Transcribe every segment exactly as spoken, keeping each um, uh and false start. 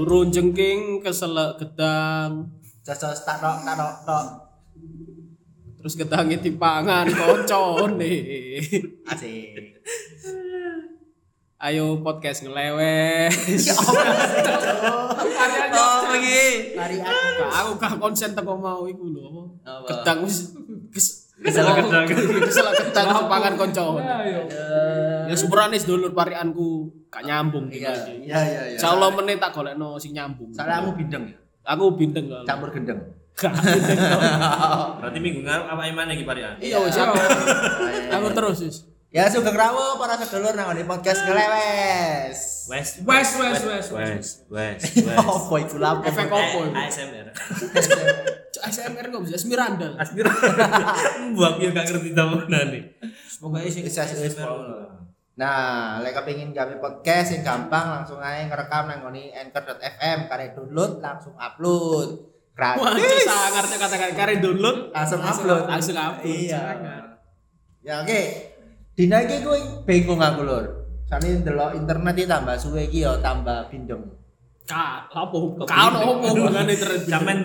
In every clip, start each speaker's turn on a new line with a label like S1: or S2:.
S1: Turun jengking keselak gedang.
S2: Jos tak tok tak tok tok.
S1: Terus gedange dipangan koncone.
S2: Asik.
S1: Ayo podcast ngelewes.
S2: Ya
S3: Oh, begini.
S2: Lari aku.
S1: Aku gak konsen teko mau iku lho apa.
S2: Apa?
S1: Gedang wis kes-
S3: Kesel gedang.
S1: Kesel gedang dipangan koncone.
S4: Ayo.
S1: Ya sepurane sedulur parikanku gak nyambung
S2: Iya,
S1: iki.
S2: iya iya iya.
S1: Insyaallah meneh tak golekno sing nyambung.
S2: Soalnya aku bindeng ya.
S1: Aku bindeng kok.
S2: Campur gendeng.
S1: Gak bindeng.
S3: Berarti minggu ngarep apa imane iki parian?
S1: Iya wis aku. Aku terus wis.
S2: Ya sugeng rawuh para sedulur nang ngene podcast ngelewes.
S3: Wes
S4: Wes wes wes.
S3: wes wes wes.
S2: Opo iku lapo?
S1: Efek opo iku?
S3: A S M R.
S1: A S M R kok bisa Esmeralda.
S3: Aspir. Mbak yo gak ngerti tamunane.
S1: Pokoke sing
S2: Bisa wis. Nah, lek kepengin gawe podcast sing gampang langsung ae ngerekam nang ngene anchor dot f m kare download langsung upload.
S1: Wah,
S2: Gratis.
S1: sangarnya kata-kata kare download
S2: Langsung upload.
S1: langsung upload.
S2: Iya.
S1: Sangar.
S2: Ya oke. Dina iki kuwi bingung aku lur. Soale ndelok internet iki tambah suwe iki ya tambah bindeng.
S1: Ka, apa? Ka ono opo hubungane internet
S3: Sampean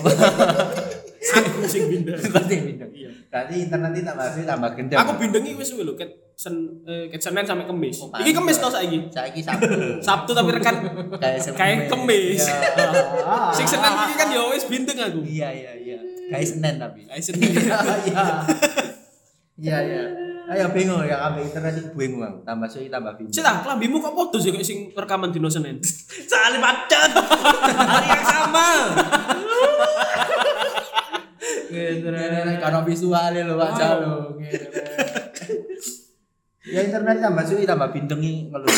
S1: aku sing bindeng.
S2: Berarti bindeng.
S1: Iya.
S2: Berarti internet iki tambah suwe tambah gendeng.
S1: Aku bindengi wis suwe lho ket sen eh, ket Senin sampai Kamis.
S2: Oh,
S1: Iki Kamis
S2: pantes.
S1: to saiki.
S2: Saiki Sabtu.
S1: Sabtu tapi rekan
S2: Kayak
S1: kayak Kamis.
S2: Iya.
S1: Sing Senin iki kan ya wis bindeng aku.
S2: Iya iya iya. Kayak Senin tapi.
S1: Kayak Senin.
S2: Iya. Iya iya. Ayo bingung ya ambek internet iki bingung aku. Tambah suwe tambah bindeng.
S1: Sik ta, klambimu kok podo sih kayak sing rekaman dino Senin.
S3: saling macet. Hari yang sama.
S2: Ngene kan visual lho Pak Jalo. Ya internet tambah suwe tambah bindengi ngeluh.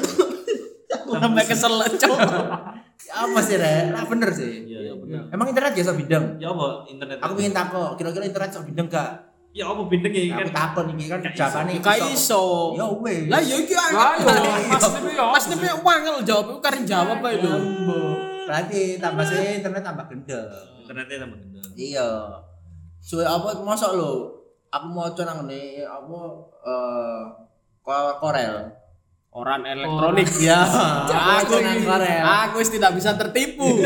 S1: Aku sampai kesel cok.
S2: Apa sih Rek? Lah bener sih.
S3: Iya
S1: bener.
S2: Emang internet biasa bindeng?
S3: Ya apa internet?
S2: Aku pengen takok, kira-kira internet sok bindeng gak?
S3: Ya apa bindeng iki
S2: Aku
S3: kan?
S2: takon iki kan
S3: Gak iso.
S2: jawabane
S1: Gak iso.
S2: Ya wis.
S1: Lah ya iki
S4: Lah yo Mas Nipi yo.
S1: Mas Nipi wangel jawab iku karen jawab ae lho.
S2: Berarti tambah suwe internet tambah gendeng.
S3: Internetnya tambah gendeng.
S2: Iya. Suwe apa mosok lho? Aku maca nang ngene apa eh Ko- Korel.
S1: Orang elektronik.
S2: Ya,
S1: Aku
S2: nang Korel.
S1: Aku wis tidak bisa tertipu.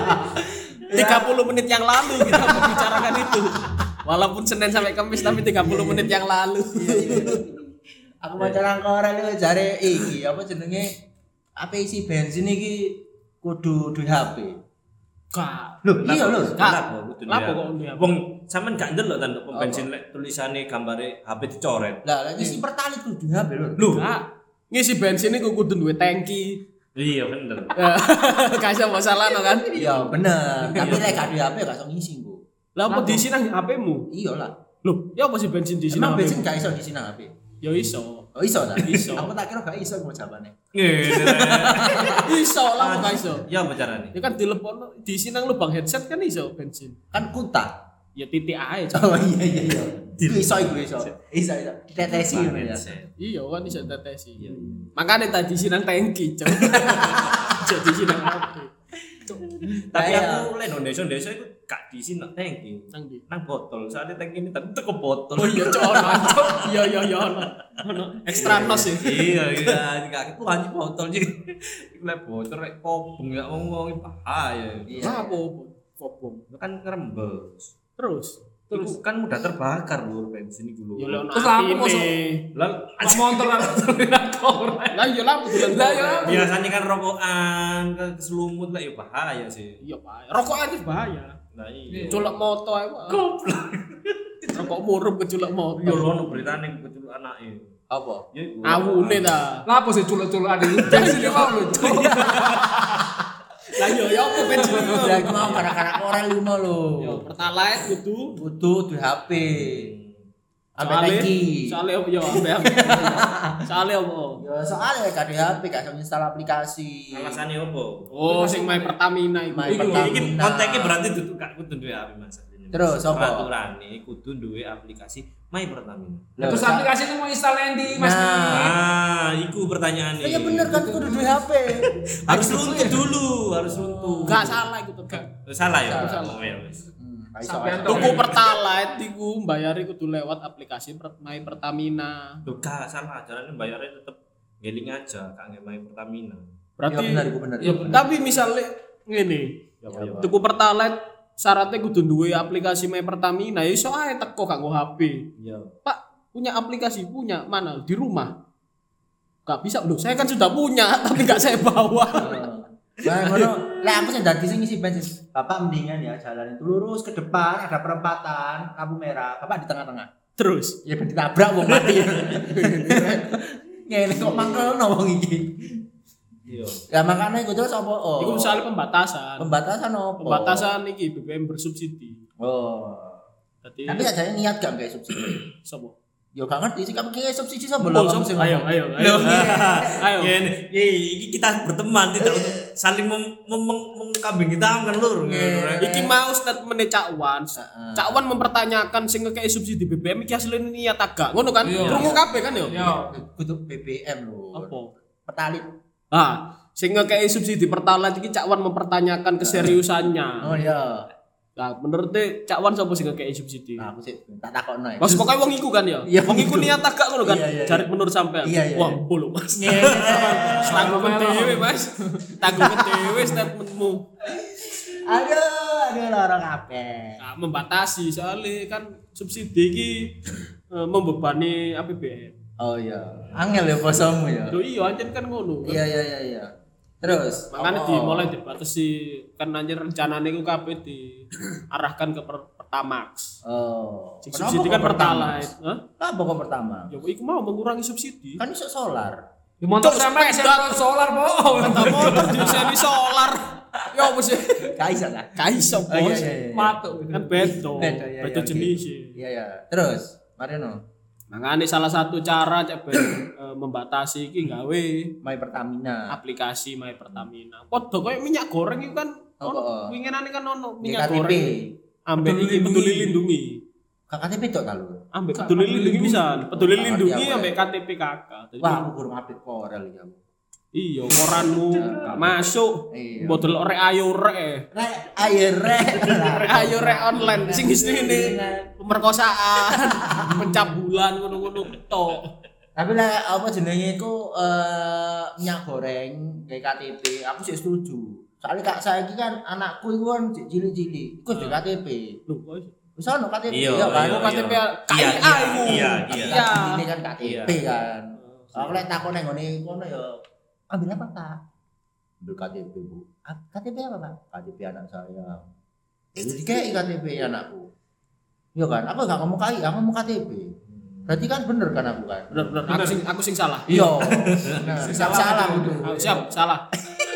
S1: tiga puluh menit yang lalu kita membicarakan itu. Walaupun Senin sampai Kamis tapi tiga puluh menit yang lalu.
S2: Aku maca nang Korel iki jare iki apa jenenge? Apa isi bensin iki kudu duwe H P.
S1: Gak.
S2: Loh, iya lho.
S1: Kak,
S3: Lapo
S1: lapo kok duwe H P?
S3: Wong sampean gak ndelok ta pom bensin lek tulisane gambare H P dicoret.
S2: Lah, lek isi pertalit kudu duwe H P lho.
S3: Lho,
S1: Gak. Ngisi bensin iku kudu duwe tangki.
S3: iya bener.
S1: Gak iso masalah no kan?
S2: Iya, bener. Tapi lek gak duwe H P gak iso ngisi engko.
S1: Lah apa diisi nang H P-mu?
S2: Iya lah.
S1: Loh, ya apa sih bensin diisi
S2: Emang
S1: nang H P?
S2: bensin gak iso diisi nang H P.
S1: Ya iso.
S2: Oh iso ta?
S1: Iso.
S2: Aku tak kira gak iso mau jawabane.
S3: Ngene.
S1: Iso lah kok gak iso.
S3: Ya apa carane?
S1: Ya kan telepon diisi nang lubang headset kan iso bensin.
S2: Kan kuta.
S1: Ya titik ae. Cok.
S2: Oh iya iya iya. Iku iso iku iso. Iso iso. Ditetesi ngono ya.
S1: Iya kan iso tetesi. Makanya tadi diisi nang tangki, Cok. Cok diisi nang H P. Cok.
S3: Tapi
S2: Kayak-
S3: aku lek nang desa-desa iku gak diisi nang tangki.
S1: Nang ndi?
S3: Nang botol. Saatnya tangki ini tak teko botol.
S1: Oh iya, Cok. ono, Cok. Iya iya iya ono. Ono ekstra nos ya.
S3: Iya iya, gak aku anjing botol sih. Iku lek botol rek kobong gak ngomong bahaya.
S2: Iya.
S1: Apa popom?
S3: Itu kan ngerembes.
S1: Terus
S3: Terus kan mudah terbakar lur bensin iku lho.
S1: ya lek ono
S4: Terus apa
S1: atine.
S4: mosok?
S3: Lah
S4: Pak motor lah korek.
S1: Lah iya lah bulan
S4: Lah, iya.
S3: biasanya kan rokokan ke keselumut lah ya bahaya sih.
S1: Iya, Pak. Rokokan itu bahaya.
S3: Nah iya.
S1: Culek moto ae, Pak.
S3: Goblok.
S1: Rokok murup keculek moto.
S3: Yo ono beritane kecil anake.
S2: Apa?
S3: Ya iku.
S1: Awune ta.
S4: Lah apa sih culek-culek ada itu? Bensin dia mau lho.
S1: Lah yo yo apa bensin itu?
S2: Lah iku mau kanak-kanak Korel lima lho.
S1: Yo pertalite kudu
S2: Butuh duwe H P. Ambek
S1: Soale-
S2: tangki.
S1: Soale apa yo ambek ambek. Soale apa?
S2: Ya soalnya gak duwe H P gak iso install aplikasi.
S3: Alasane opo?
S1: Oh, sing main Pertamina iku.
S2: Main
S3: Iki
S2: Pertamina.
S3: iki konteknya berarti dudu gak kudu duwe H P Mas.
S2: Terus, apa?
S3: Aturane kudu duwe aplikasi My Pertamina.
S2: Lah,
S4: Terus
S2: sa-
S4: aplikasi itu mau install di Mas.
S2: Nah.
S3: Ah, iku pertanyaannya.
S2: Lah ya bener kan kudu duwe H P.
S3: Harus runtuh dulu, harus runtuh.
S1: Enggak salah iku tetep.
S3: Eh, Salah ya?
S1: Salah.
S3: Oh, ya wis.
S2: Hmm, gak iso.
S4: Sampean
S2: gak iso.
S1: Tuku pertalite iku mbayari kudu lewat aplikasi Per- My Pertamina.
S3: Loh, gak salah, caranya bayarnya tetep ngeling aja, gak nge My Pertamina.
S1: Berarti
S2: Iya bener, iku bener.
S4: Iya, bener.
S1: tapi misalnya ngene, tuku Pertalite syaratnya kudu duwe aplikasi My Pertamina, ya iso ae teko gak nggo H P.
S3: Iya.
S1: Pak, punya aplikasi punya mana? Di rumah. Gak bisa loh. Saya kan sudah punya tapi gak saya bawa.
S2: Nah, ngono. Lah aku sing dadi sing ngisi bensin. Bapak mendingan ya jalan itu lurus ke depan ada perempatan lampu merah. Bapak di tengah-tengah.
S1: Terus
S2: Ya ben ditabrak wong mati. Ngene kok mangkelno wong iki.
S3: Iya.
S2: Ya makanya iku terus apa? Oh.
S1: itu misalnya pembatasan.
S2: Pembatasan apa?
S1: Pembatasan iki B B M bersubsidi.
S2: Oh.
S1: Jadi
S2: Tapi aja niat gak kayak subsidi.
S1: sopo?
S2: Yo gak ngerti sih kamu kayak subsidi sama
S1: Oh,
S2: belum
S1: sopo?
S2: kamu sing
S1: Ayo,
S2: ngomong.
S1: ayo, ayo. Ayo.
S3: Ya ini, ya, ini kita berteman tidak untuk saling mem- mem- mem- mengkambing kita kan lur.
S1: Iki mau statementnya Cak Wan. Cak Wan mempertanyakan sing ngekei subsidi B B M iki asline niat agak. Ngono kan?
S4: Iya.
S1: Krungu kabeh kan yo?
S4: Yo.
S2: Kudu B B M lho.
S1: Apa?
S2: Petalit.
S1: Ah, sing ngekei subsidi Pertalite iki Cak Wan mempertanyakan keseriusannya.
S2: Oh iya.
S1: Nah, menurut Cak Wan sapa sing ngekei subsidi?
S2: Nah, aku sih tak takokno ya.
S1: Mas pokoknya wong iku kan ya.
S2: Iya,
S1: Wong iku
S2: wong iku.
S1: niat agak ngono kan.
S2: Iya, iya,
S1: Jarik menurut sampean.
S2: Iya, iya,
S1: Wah,
S2: iya.
S1: bolo Mas.
S2: Ngene.
S1: Tanggung dhewe Mas. Tanggung dhewe statementmu.
S2: Aduh, aduh loro kabeh.
S1: Nah, membatasi soalnya kan subsidi iki eh, membebani A P B N.
S2: Oh iya. Angel ya posomu ya.
S1: Lho iya anjen kan ngono.
S2: Iya iya iya iya. Terus
S1: Makanya
S2: apa?
S1: dimulai dibatasi kan anjen rencanane iku kabeh diarahkan ke per- Pertamax.
S2: Oh.
S1: Sing
S2: Kenapa
S1: subsidi
S2: kok
S1: kan
S2: pertama?
S1: Pertalite. Hah?
S2: Apa kok pertama?
S1: Ya iku mau mengurangi subsidi.
S2: Kan iso solar.
S4: Di motor
S1: Cuk,
S4: sama
S1: sepeda.
S4: isi solar po.
S1: Sepeda motor diseni solar. Ya apa sih?
S2: Gak iso lah.
S1: Kaiso
S2: Oh iya
S1: bos.
S2: iya iya.
S4: Matuk.
S1: Kan beda.
S2: Beda, iya,
S1: Beda
S2: iya,
S1: jenis.
S2: Iya iya. Terus, Marino,
S1: Makanya salah satu cara cek ben eh, membatasi iki gawe
S2: My Pertamina.
S1: aplikasi My Pertamina. Padha koyo minyak goreng itu kan
S2: Apa?
S1: ono winginane kan ono
S2: K
S1: minyak
S2: T P.
S1: goreng. Ambek iki peduli lindungi.
S2: K T P tok ta lu?
S1: Ambek peduli lindungi bisa. Peduli
S2: Oh,
S1: lindungi
S2: iya,
S1: ambek K T P kakak. Jadi,
S2: Wah, aku kurang update korel iki aku.
S1: iya, koranmu gak masuk.
S2: Iya.
S1: Bodol rek ayo rek.
S2: Rek, ayo rek.
S1: Rek ayo rek online sing isine pemerkosaan, pencabulan ngono-ngono tok.
S2: Tapi lah apa jenenge iku eh minyak goreng kayak K T P, aku sih setuju. Soalnya kak saya kan anakku itu kan cilik-cilik, iku di K T P.
S1: Lho, kok iso?
S2: Wis ono K T P
S3: Iya,
S2: ya kan?
S3: iya,
S1: K T P
S3: iya.
S1: K I A
S3: Iya,
S1: iku.
S3: iya, iya.
S1: Iya.
S2: Ini kan K T P kan. Aku lek takon nang ngene kono ya ambil apa Kak? Ambil K T P Bu. "Ah, K T P apa Kak? K T P anak saya. Jadi dikei K T P anakku. Iya kan? Aku gak ngomong K I A, aku ngomong K T P. Berarti kan bener kan aku kan?
S1: Bener bener aku sing aku sing salah.
S2: Iya. Nah, salah, salah udah.
S1: Ah, siap, salah.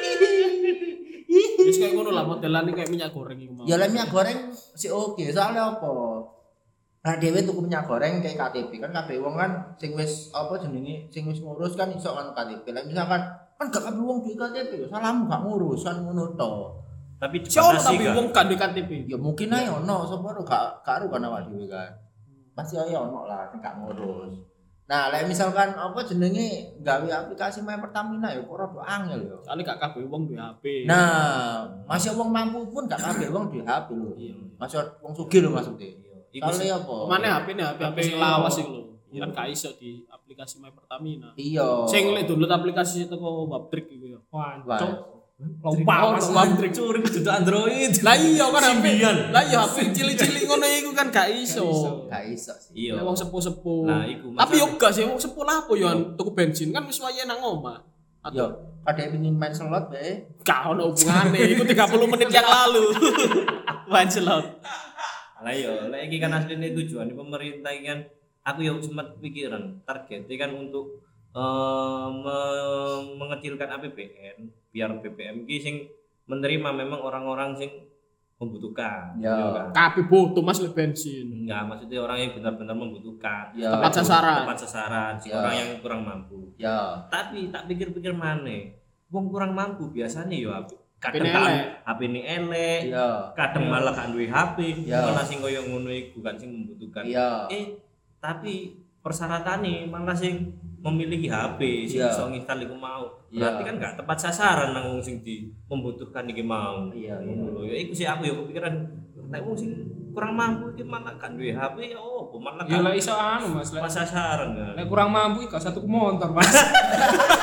S1: Wis kayak ngono lah modelane kayak minyak goreng iku mau.
S2: Ya lek minyak goreng sih oke, soalnya apa? Nah dhewe tuku minyak goreng kayak K T P kan kabeh wong kan sing wis apa jenenge sing wis ngurus kan iso kan K T P. Lah misalkan kan gak kabeh wong duwe K T P, salahmu gak ngurus kan ngono to.
S3: Tapi
S1: Siapa
S3: dibatasi
S1: tapi
S3: kan.
S1: wong gak duwe K T P.
S2: Ya mungkin ae ono sapa ro gak gak ro kan awak dhewe kan. Pasti ae ono lah sing gak ngurus. Nah, lek misalkan apa jenenge gawe aplikasi My Pertamina ya kok rada angel ya.
S1: Soalnya gak kabeh wong duwe H P.
S2: Nah, masih wong mampu pun gak kabeh wong duwe H P lho.
S1: Iya.
S2: Masih wong sugih lho maksudnya.
S3: Iku sih-
S2: Soalnya apa?
S1: Pemane H P ne H P H P lawas iku lho. Kan gak iso di aplikasi My Pertamina.
S2: Iya.
S1: Sing lek download aplikasi teko Wabtrick iku ya.
S4: Wah,
S2: Wah.
S4: cok. Lompat mas.
S1: Wabtrick.
S3: Curi kudu Android.
S1: Lah iya kan H P.
S3: Simbian.
S1: Lah iya H P cilik-cilik ngono iku kan gak iso.
S2: Gak iso sih.
S3: Iya.
S1: Ya wong sepuh-sepuh.
S3: Nah, iku
S1: Tapi yo
S3: masalah.
S1: gak sih wong sepuh lah apa yo tuku bensin kan wis wayahe nang omah.
S2: Yo, kadek pengin main slot be.
S1: Gak ono hubungane, iku tiga puluh menit yang lalu. Wancelot.
S3: Lah iya, lek iki kan asline tujuan pemerintah iki kan aku ya sempat pikiran targetnya kan untuk eh, me- mengecilkan A P B N biar B B M iki sing menerima memang orang-orang sing membutuhkan.
S2: Ya.
S3: Iya kan?
S1: Kabeh butuh Mas le bensin.
S3: Enggak, maksudnya orang yang benar-benar membutuhkan.
S2: Ya.
S1: Tepat sasaran.
S3: Tepat sasaran, si
S2: Ya.
S3: orang yang kurang mampu.
S2: Ya.
S3: Tapi tak pikir-pikir maneh, wong kurang mampu biasanya yo
S1: H P
S3: kadang
S1: ini
S3: kan
S1: elek.
S3: H P ini elek,
S2: Ya.
S3: kadang malah kan duwe H P,
S2: Ya.
S3: malah sing koyo ngono iku kan sing membutuhkan.
S2: Iya.
S3: Eh, tapi persyaratannya malah sing memiliki H P sing
S2: Iya.
S3: iso nginstal iku mau.
S2: Iya.
S3: Berarti kan gak tepat sasaran nang wong sing di membutuhkan iki mau.
S2: Iya, iya.
S3: Ngono lho. Ya iku sih aku ya kepikiran nek wong sing kurang mampu iki malah kan duwe H P ya opo malah
S4: Ya
S3: kan
S4: lah iso anu mas. Lek
S3: tepat sasaran kan.
S4: lek kurang mampu iki gak satu motor mas.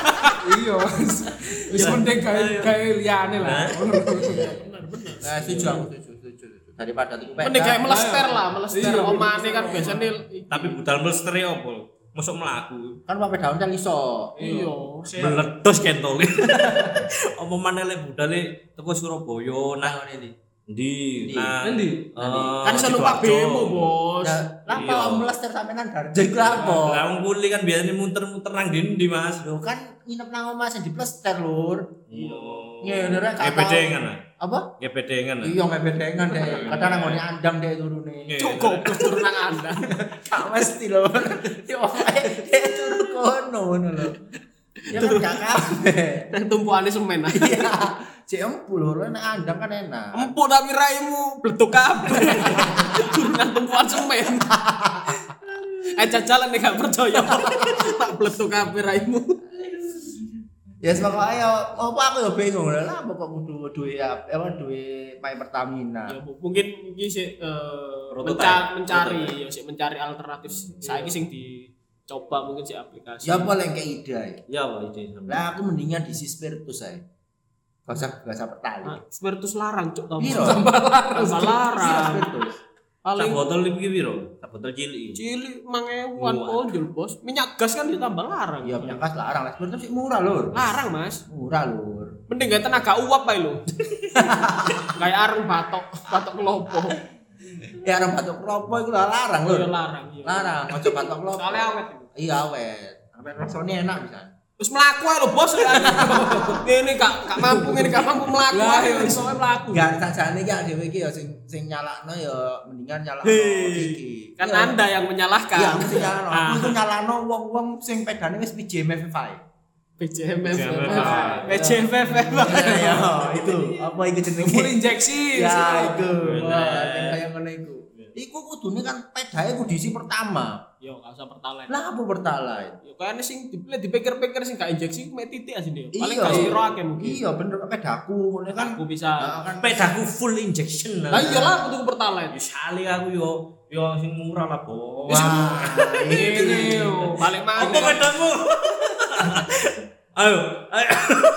S4: Iya. Wis mending gawe gawe liyane lah.
S2: Nah, setuju aku setuju, setuju, setuju. Daripada tuku peda.
S1: Mending kayak melester lah, melester
S4: Iya,
S1: omane kan biasanya
S3: Tapi budal melester ya apa? Mosok mlaku.
S2: Kan pakai daun kan iso.
S1: iya.
S3: Meledos kentol. Apa maneh lek budale teko Surabaya nang
S2: ngene iki.
S3: ndi?
S2: Ndi?
S3: Nang
S4: Ndi?
S3: eh,
S1: Kan iso numpak
S3: Sidoarjo.
S1: bemo, Bos.
S2: Lah
S3: Iya.
S2: apa melester sampean Darjo iku apa?
S3: Lah wong kuli kan biasanya muter-muter nang ndi Mas.
S2: Lho kan nginep nang omah sing diplester lur.
S3: Iya.
S2: Ngene rek kata.
S3: Gebedengan lah.
S2: Apa?
S3: Gebedengan lah.
S2: Iya ngebedengan deh. Kadang nang ngene andang deh turune.
S1: Cukup turun nang Anda.
S2: Gak mesti lho. Yo dia turu kono ngono lho. Ya kan gak kabeh.
S1: Nang tumpukane semen.
S2: Iya. Cek empul lho nek andang kan enak.
S1: Empuk tapi raimu bleduk kabeh. Turun nang tumpukan semen. Eh jajalan nek gak percaya. Tak bleduk kabeh raimu.
S2: Ya sebab ayo apa aku ya bingung lho lah kok kudu duwe apa duwe Pai Pertamina.
S1: Ya mungkin iki sik eh,
S3: Prototype.
S1: menca- mencari ya sik mencari alternatif saiki sing dicoba mungkin sik aplikasi.
S2: Ya apa lek kayak ide ae.
S3: Ya apa ide sampe?
S2: Lah aku mendingan di Spiritus ae. Gak usah gak usah pertali.
S1: Nah, Spiritus larang cuk tau.
S2: Piro?
S1: Tambah larang. Tambah larang.
S2: Spiritus.
S3: Sak
S1: Paling
S3: botol iki piro? Sak botol cilik.
S1: cilik mangewan
S3: Wah.
S1: ponjol, Bos. Minyak gas kan ditambah larang.
S2: Iya minyak gas larang lah. Spiritus sih murah lur.
S1: Larang, Mas.
S2: Murah lur.
S1: Mending gak tenaga uap ae lho. Kayak arung batok, batok kelopo.
S2: Ya orang batuk klopo iku lah larang lur.
S1: Iya larang, iya.
S2: Larang, ojo batuk klopo.
S1: Soalnya awet.
S2: Iya awet. Awet rasane enak bisa.
S1: Terus mlaku ae lho, Bos. Ini gak gak mampu, ini gak mampu mlaku
S4: Lah,
S1: ae
S4: iya.
S1: iso mlaku.
S2: Enggak sajane iki dhewe iki ya sing sing nyalakno ya mendingan nyalakno
S3: Hei.
S2: iki.
S1: Kan
S2: Iya.
S1: Anda yang menyalahkan.
S2: Iya, mesti nyalakno. Aku
S1: Ah.
S2: iku nyalakno wong-wong sing pedane wis P J M F five.
S1: P J M F.
S3: P J M F.
S1: P J M F.
S2: Ya, itu. Apa iku jenenge?
S4: Full injeksi.
S2: Ya, itu.
S3: Bener.
S2: Wah, sing kaya ngono iku. Iku kudune kan pedae kudu diisi pertama.
S1: Yo, gak usah pertalite.
S2: Lah apa pertalite?
S1: Yo kayaknya sing dipilih dipikir-pikir sing gak injeksi mek titik asine yo. Paling
S2: Iya.
S1: gak siro akeh mungkin.
S2: Iya bener pedaku ngono kan.
S1: Aku bisa.
S2: Nah, kan
S3: Pedaku full injection lah.
S1: Lah iya lah aku tuku pertalite.
S3: Ya sali aku yo yo sing murah lah, Bos.
S2: Wah,
S1: Ini yo, balik
S3: Apa
S1: mana?
S3: pedamu? Ayo, ayo.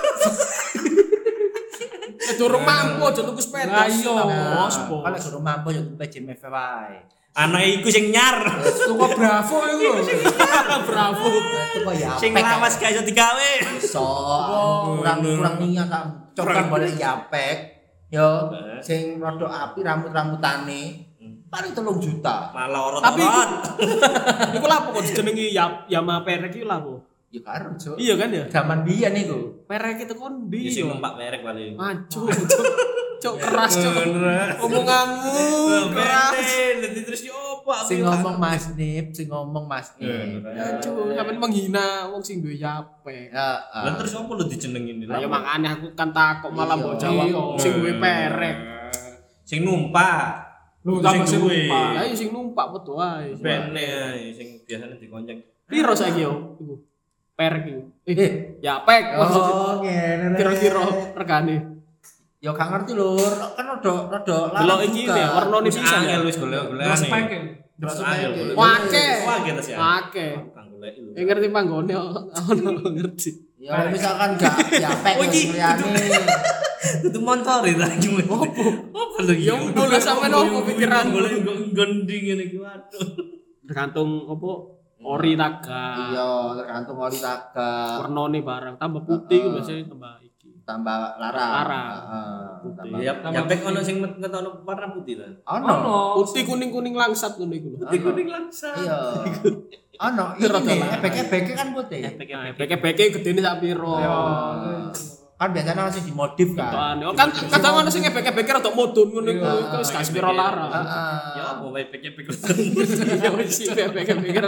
S1: Durung mampu aja tuku sepeda.
S4: Lah iya.
S1: Bos, bos.
S2: Kalau guru mampu ya P J M F wae.
S3: Anak iku sing nyar.
S4: Tuku Bravo iku lho.
S1: Bravo.
S2: Itu kok ya.
S3: Sing
S2: apek,
S3: lawas gak iso digawe.
S2: iso kurang kurang niat tak coba boleh yapek yo
S3: Eh.
S2: sing rada api rambut-rambutane paling telung juta
S3: Malah orot-orot.
S1: Tapi iku lah kok dijenengi ya Yamaha perek iki lah kok.
S2: ya karo cuk
S1: Iya kan ya?
S2: zaman biyen niku
S1: Perek itu kon
S3: Ya
S1: ndi
S3: sing
S1: yo.
S3: numpak merek paling.
S1: Maju, cuk. Cuk keras cuk. Omonganmu keras.
S3: Nanti terus yo apa?
S2: sing ngomong Mas Nip sing ngomong Mas Nip
S3: Ya,
S1: Cuk, sampean menghina wong sing duwe yape.
S2: ya
S3: Lah terus apa lu dijenengin
S1: Lah ya makane aku kan takut malah mbok jawab
S4: Iya.
S1: sing duwe perek.
S3: Sing numpak.
S4: Lu
S3: Sing
S4: tambah sing
S3: duwe.
S4: numpak.
S1: Lah iya sing numpak betul ae.
S3: Bene ae sing biasanya dikonceng.
S1: Piro saiki yo iku? Perek iku. Eh,
S2: eh
S1: yapek maksudnya.
S2: oh ngene
S1: Kira-kira regane.
S2: ya gak ngerti lur kan rada rada
S1: Delok iki ya warnane
S3: Wis
S1: bisa
S3: angel
S1: ya.
S3: wis golek-golekane.
S4: Terus packing.
S3: Terus
S2: Terus
S3: angel
S2: packing.
S3: golek.
S1: Wake.
S3: Wah, gitu sih.
S1: Akeh.
S3: Kang golek lho.
S1: Eh ngerti panggone ono ngerti.
S2: ya kalau misalkan gak yapek
S3: Oh, iki
S2: liyane
S3: Itu motor itu lagi. Opo? Apa lagi?
S1: Ya ampun, lah sampean opo pikiranmu?
S3: Golek gonding ngene iki waduh.
S1: Tergantung apa ori taga.
S2: iya tergantung ori taga
S1: Warnane barang tambah putih ku biasanya tambah iki.
S2: tambah larang
S1: Larang.
S2: heeh
S1: Putih.
S2: tambah
S3: Ya, ya pek ono sing ngetono warna putih lah.
S2: ono
S1: Putih kuning-kuning langsat ngono iku lho.
S3: Putih kuning langsa.
S2: iya ono
S1: Itu rada
S2: ini
S1: larang.
S2: ebek-ebek kan putih
S1: Beke-beke gedene sak piro.
S2: kan biasanya masih dimodif kan
S1: Toane. Oh, kan kadang ono sing beke-beke rada mudun ngono iku.
S2: Iya.
S1: Iku wis gak sepiro larang.
S2: heeh
S3: Ya apa wae pek-pek.
S1: Ya wis sih beke-beke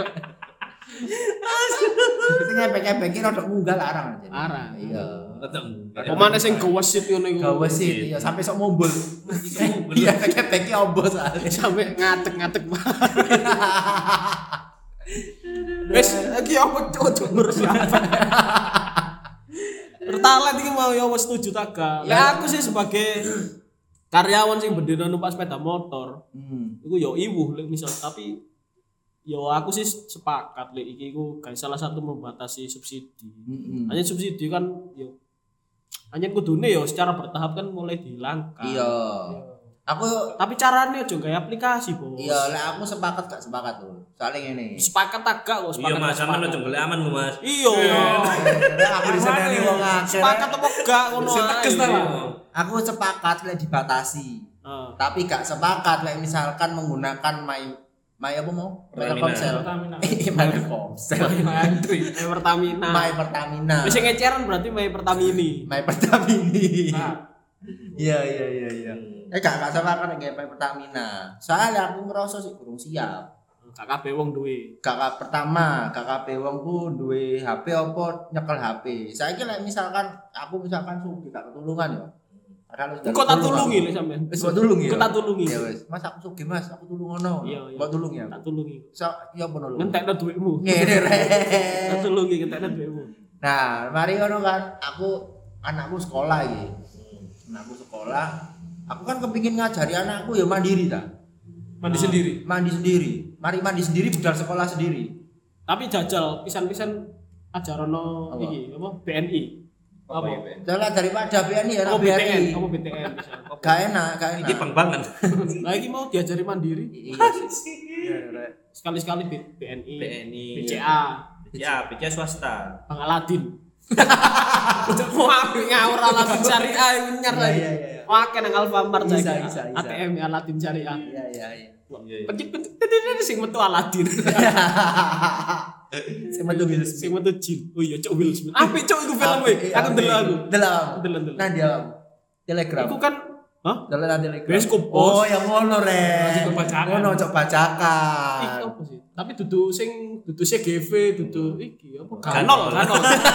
S2: sing ebek-ebek rada munggah larang aja
S1: larang.
S2: iya
S1: Pemane sing gewesit ngono iku.
S2: gawe sih iya sampai sok mumbul iya ebek-ebek ombo soalnya
S1: Sampai ngatek-ngatek banget. Wes iki apa cocok ngurus apa? Pertalite iki mau ya wis setuju ta gak? Lah aku sih sebagai karyawan sing bendina numpak sepeda motor,
S2: hmm
S1: iku yo iwuh lek misal tapi Yo aku sih sepakat lek iki ku gawe salah satu membatasi subsidi.
S2: Heeh.
S1: Hanya subsidi kan yo hanya kudune yo secara bertahap kan mulai dihilangkan.
S2: Iya. Aku
S1: Tapi caranya aja gawe aplikasi, Bos.
S2: iya lek aku sepakat gak sepakat tuh. Soalnya ngene.
S1: Sepakat tak gak kok
S3: Iya
S1: sepakat.
S3: Mas,
S1: gak
S3: sampean
S1: sepakat.
S3: aja golek aman lho Mas.
S1: Iya.
S2: Lek aku diseneni wong akeh.
S1: Sepakat apa gak ngono
S4: Sing tegas ta, Pak?
S2: Aku sepakat lek dibatasi.
S1: Heeh.
S2: Tapi gak sepakat lek misalkan menggunakan my my apa mau?
S3: Pertamina.
S2: Telkomsel.
S4: Pertamina.
S2: Eh, my Telkomsel.
S4: Antri.
S1: My Pertamina.
S2: My Pertamina.
S1: Bisa ngeceran berarti My Pertamini.
S2: My Pertamini.
S4: Nah,
S2: Iya iya iya iya. Eh gak gak sepakat lek my Pertamina. Soalnya aku ngerasa sih kurang siap.
S1: Gak kabeh wong duwe.
S2: Kakak pertama, kakak bewang ku duwe H P apa nyekel H P. Saiki lek misalkan aku misalkan sugih gak ketulungan ya. Padahal wis
S1: Kok tak tulungi lek sampean.
S2: Wis mbok tulungi ya.
S1: Kok tak tulungi.
S2: Ya wis, Mas aku sugih Mas, aku tulung ngono.
S1: Iya, iya.
S2: Mbok tulung ya.
S1: Tak tulungi.
S2: So, ya apa nulung?
S1: Ngentekno duitmu.
S2: Ngene
S1: Tak
S2: rek.
S1: tulungi ngentekno duitmu.
S2: Nah, mari ngono kan, aku anakku sekolah iki. Anakku sekolah, aku kan kepingin ngajari anakku ya mandiri ta.
S4: mandi sendiri.
S2: Mandi sendiri. Mari mandi sendiri budal sekolah sendiri.
S1: Tapi jajal pisan-pisan ajarono
S2: Apa?
S1: iki apa B N I. Apa?
S2: Jalan daripada B N I ya
S1: Oh B T N,
S2: B N I.
S1: apa B T N bisa.
S2: Gak enak, gak enak.
S3: Iki bang-bangan.
S1: Lah iki mau diajari mandiri.
S2: Iya sih. Iya, Rek.
S1: Sekali-sekali B- BNI,
S3: B N I.
S1: B C A,
S3: Ya, B C A swasta.
S1: Bang Aladin. Udah mau ambil ngawur Aladin syariah yang nyar
S2: Iya,
S1: lagi.
S2: iya, iya.
S1: Wah, kan Alfamart
S2: Bisa,
S1: saiki.
S2: bisa, bisa.
S1: A T M Aladin syariah.
S2: Iya, iya, iya.
S3: Iya, iya.
S1: Pencet pencet sing metu Aladin.
S2: Sing metu Will Smith.
S1: Sing metu Jin. Oh iya, Cok Will Smith. Apik Cok iku film e. Aku ndelok aku.
S2: Delok.
S1: Ndelok ndelok.
S2: Nah dia Telegram.
S1: Iku kan hah?
S2: Delok nang Telegram.
S1: Bioskop, Bos.
S2: Oh, yang ngono rek.
S4: Cok bacakan.
S2: Ngono cok bacakan.
S1: Iku apa sih? Tapi dudu sing dudu C G V, dudu iki apa?
S3: Ganol.
S1: Ganol.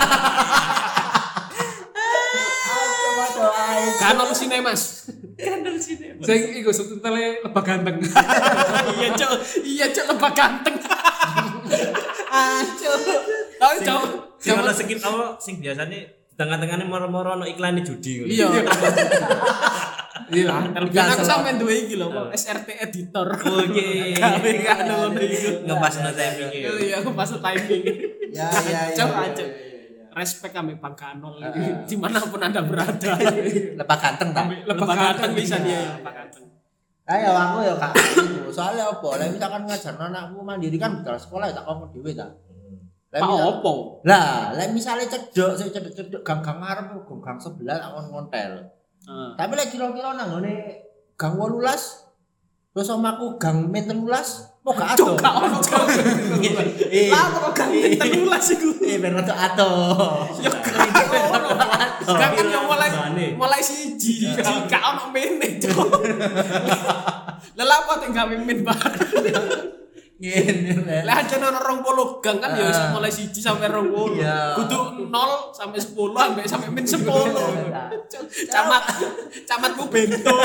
S2: Ayo maco ae.
S1: Ganol Cinemas.
S4: Sing iku subtitle lebah ganteng.
S1: Iya, Cok. Iya, Cok lebah ganteng. Ah, Cok. Tapi Cok,
S3: Sing ono skip apa sing biasane di tengah-tengahnya moro-moro ono iklan judi ngono.
S1: iya.
S4: Iya.
S1: Kan aku sampean duwe iki lho, apa, S R T editor.
S3: Oke.
S1: Gawe kan ngono iku.
S3: Ngepasno timing e.
S1: Iya, aku pas timing.
S2: Ya ya ya.
S1: Cok,
S2: ya,
S1: aja.
S2: ya, ya.
S1: Respect kami Bang Kanol dimanapun anda berada.
S2: Lepas ganteng ta?
S1: Lebah ganteng bisa dia ya, lebah ganteng.
S2: Ayo aku ya kak itu. Soalnya apa? Lah misalkan ngajarno anakku mandiri kan budal sekolah ya tak kok dhewe ta. Lah
S1: Pak
S2: misal-
S1: opo?
S2: Lah, lek misale cedok, sing cedok-cedok gang-gang ngarep gang sebelah tak kon ngontel.
S1: Heeh.
S2: Tapi lek kira-kira nang ngene gang wolulas terus omaku gang men telulas, kok gak
S1: Cok,
S2: ato.
S1: gak ono Cok.
S2: Eh,
S1: Lah kok ganteng telulas iku.
S2: eh ben rada ato.
S1: Ya gak ono. Gak kan yang mulai mulai siji, gak ono mene Cok. Lah lha apa tinggal mimin bareng.
S2: Ngene rek.
S1: Lah aja ono rong puluh gang kan ya iso mulai siji sampai rong puluh.
S2: Iya.
S1: Kudu nol sampai sepuluh sampai sampai min sepuluh. Camat camatku bento.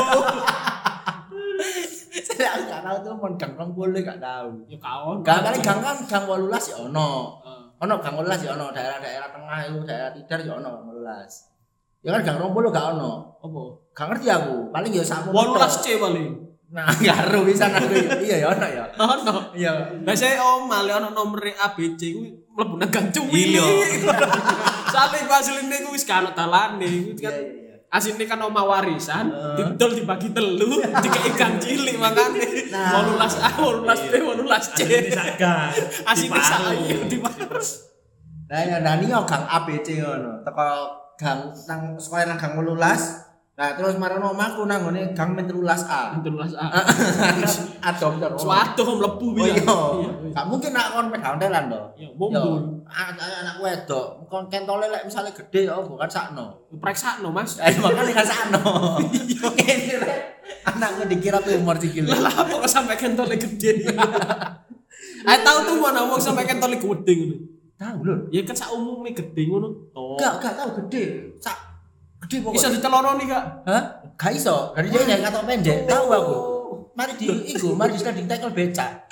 S2: Saya gak tahu tuh mon gang rong puluh gak tahu.
S1: Ya kaon.
S2: Gang kali gang kan gang wolulas ya ono.
S1: Heeh.
S2: Ono gang wolulas ya ono, daerah-daerah tengah itu daerah Tidar ya ono gang wolulas. Ya kan gang rong puluh gak ono.
S1: Apa?
S2: Gak ngerti aku. Paling ya sakmu.
S1: wolulas C paling.
S2: Nah, karo bisa aku. Iya ya ono ya.
S1: Ono.
S2: Iya.
S1: Lah saya om male ono nomor A B C kuwi mlebu nang gang cuwi.
S3: Iya.
S1: Soale ku asline ku wis kan dalane. Kuwi kan
S2: Iya iya iya.
S1: asine kan omah warisan,
S2: Heeh.
S1: didol dibagi telu, dikei gang cilik makane.
S2: Nah.
S1: wolulas A, wolulas B, wolulas C.
S3: Saga.
S1: Asine sak iya dipares.
S2: Nah, ya nani yo gang A B C ngono. Teko gang nang sekolah nang gang wolulas. Nah, terus marono omahku nang ngene gang men telulas A.
S1: wolulas A.
S2: Adom terus.
S1: Suatu mlebu
S2: Oh
S1: ya.
S2: iya. Gak mungkin nak kon pegang telan to.
S1: Ya mumbul.
S2: Anak wedok, kon kentole lek misale gede ya bukan sakno.
S1: Preksakno Mas.
S2: Ayo makane kan sakno. Ngene rek. Anakku dikira tumor sikil.
S1: Lah apa kok sampai kentole gede. Ah tahu tuh mana wong sampai kentole gede ngono.
S2: Tahu lho.
S1: Ya kan sak umume gede ngono. Oh.
S2: Gak gak tahu gede. Sak gede
S1: Bisa
S2: pokoknya.
S1: diteloroni Kak.
S2: Hah? Gak iso. Dari dia nyai katok pendek. Tahu aku. Mari di iku, mari di sliding tackle becak.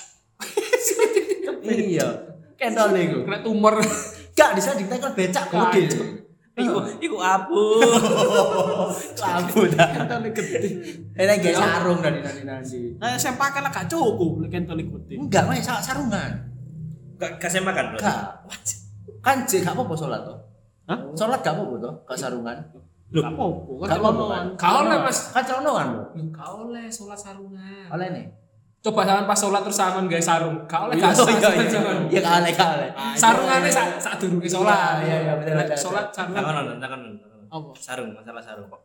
S2: Iya. Kentole iku.
S4: Kena tumor.
S2: Gak di sliding tackle becak gede.
S3: Iku iku abu.
S2: Lampu dah.
S1: Kentole gede.
S2: Enak gak sarung dari nanti-nanti.
S1: Nah, saya pakai lah gak cukup lek kentole gede.
S2: Enggak, Mas, sarungan.
S3: Gak kasih makan berarti.
S2: Enggak. Kan jek gak apa-apa salat to.
S1: Hah?
S2: Salat gak apa-apa to, gak sarungan.
S1: Gak apa-apa, kan
S2: Gak apa-apa,
S1: celonoan.
S4: Gak oleh, Mas.
S2: Kan celonoan lho.
S4: Gak oleh sholat sarungan.
S2: Oleh nih.
S4: Coba sampean pas sholat terus sampean gawe sarung. Gak oleh
S2: Iya,
S4: gak
S2: iya, iya.
S4: jangan.
S2: Iya, gak oleh, gak oleh.
S4: Sarungane sak sak durunge sholat.
S2: Iya, iya, betul,
S4: Lek
S2: betul,
S4: Sholat
S2: betul.
S4: sarungan.
S3: Takon non, takon non.
S1: Apa?
S3: Sarung, masalah sarung kok.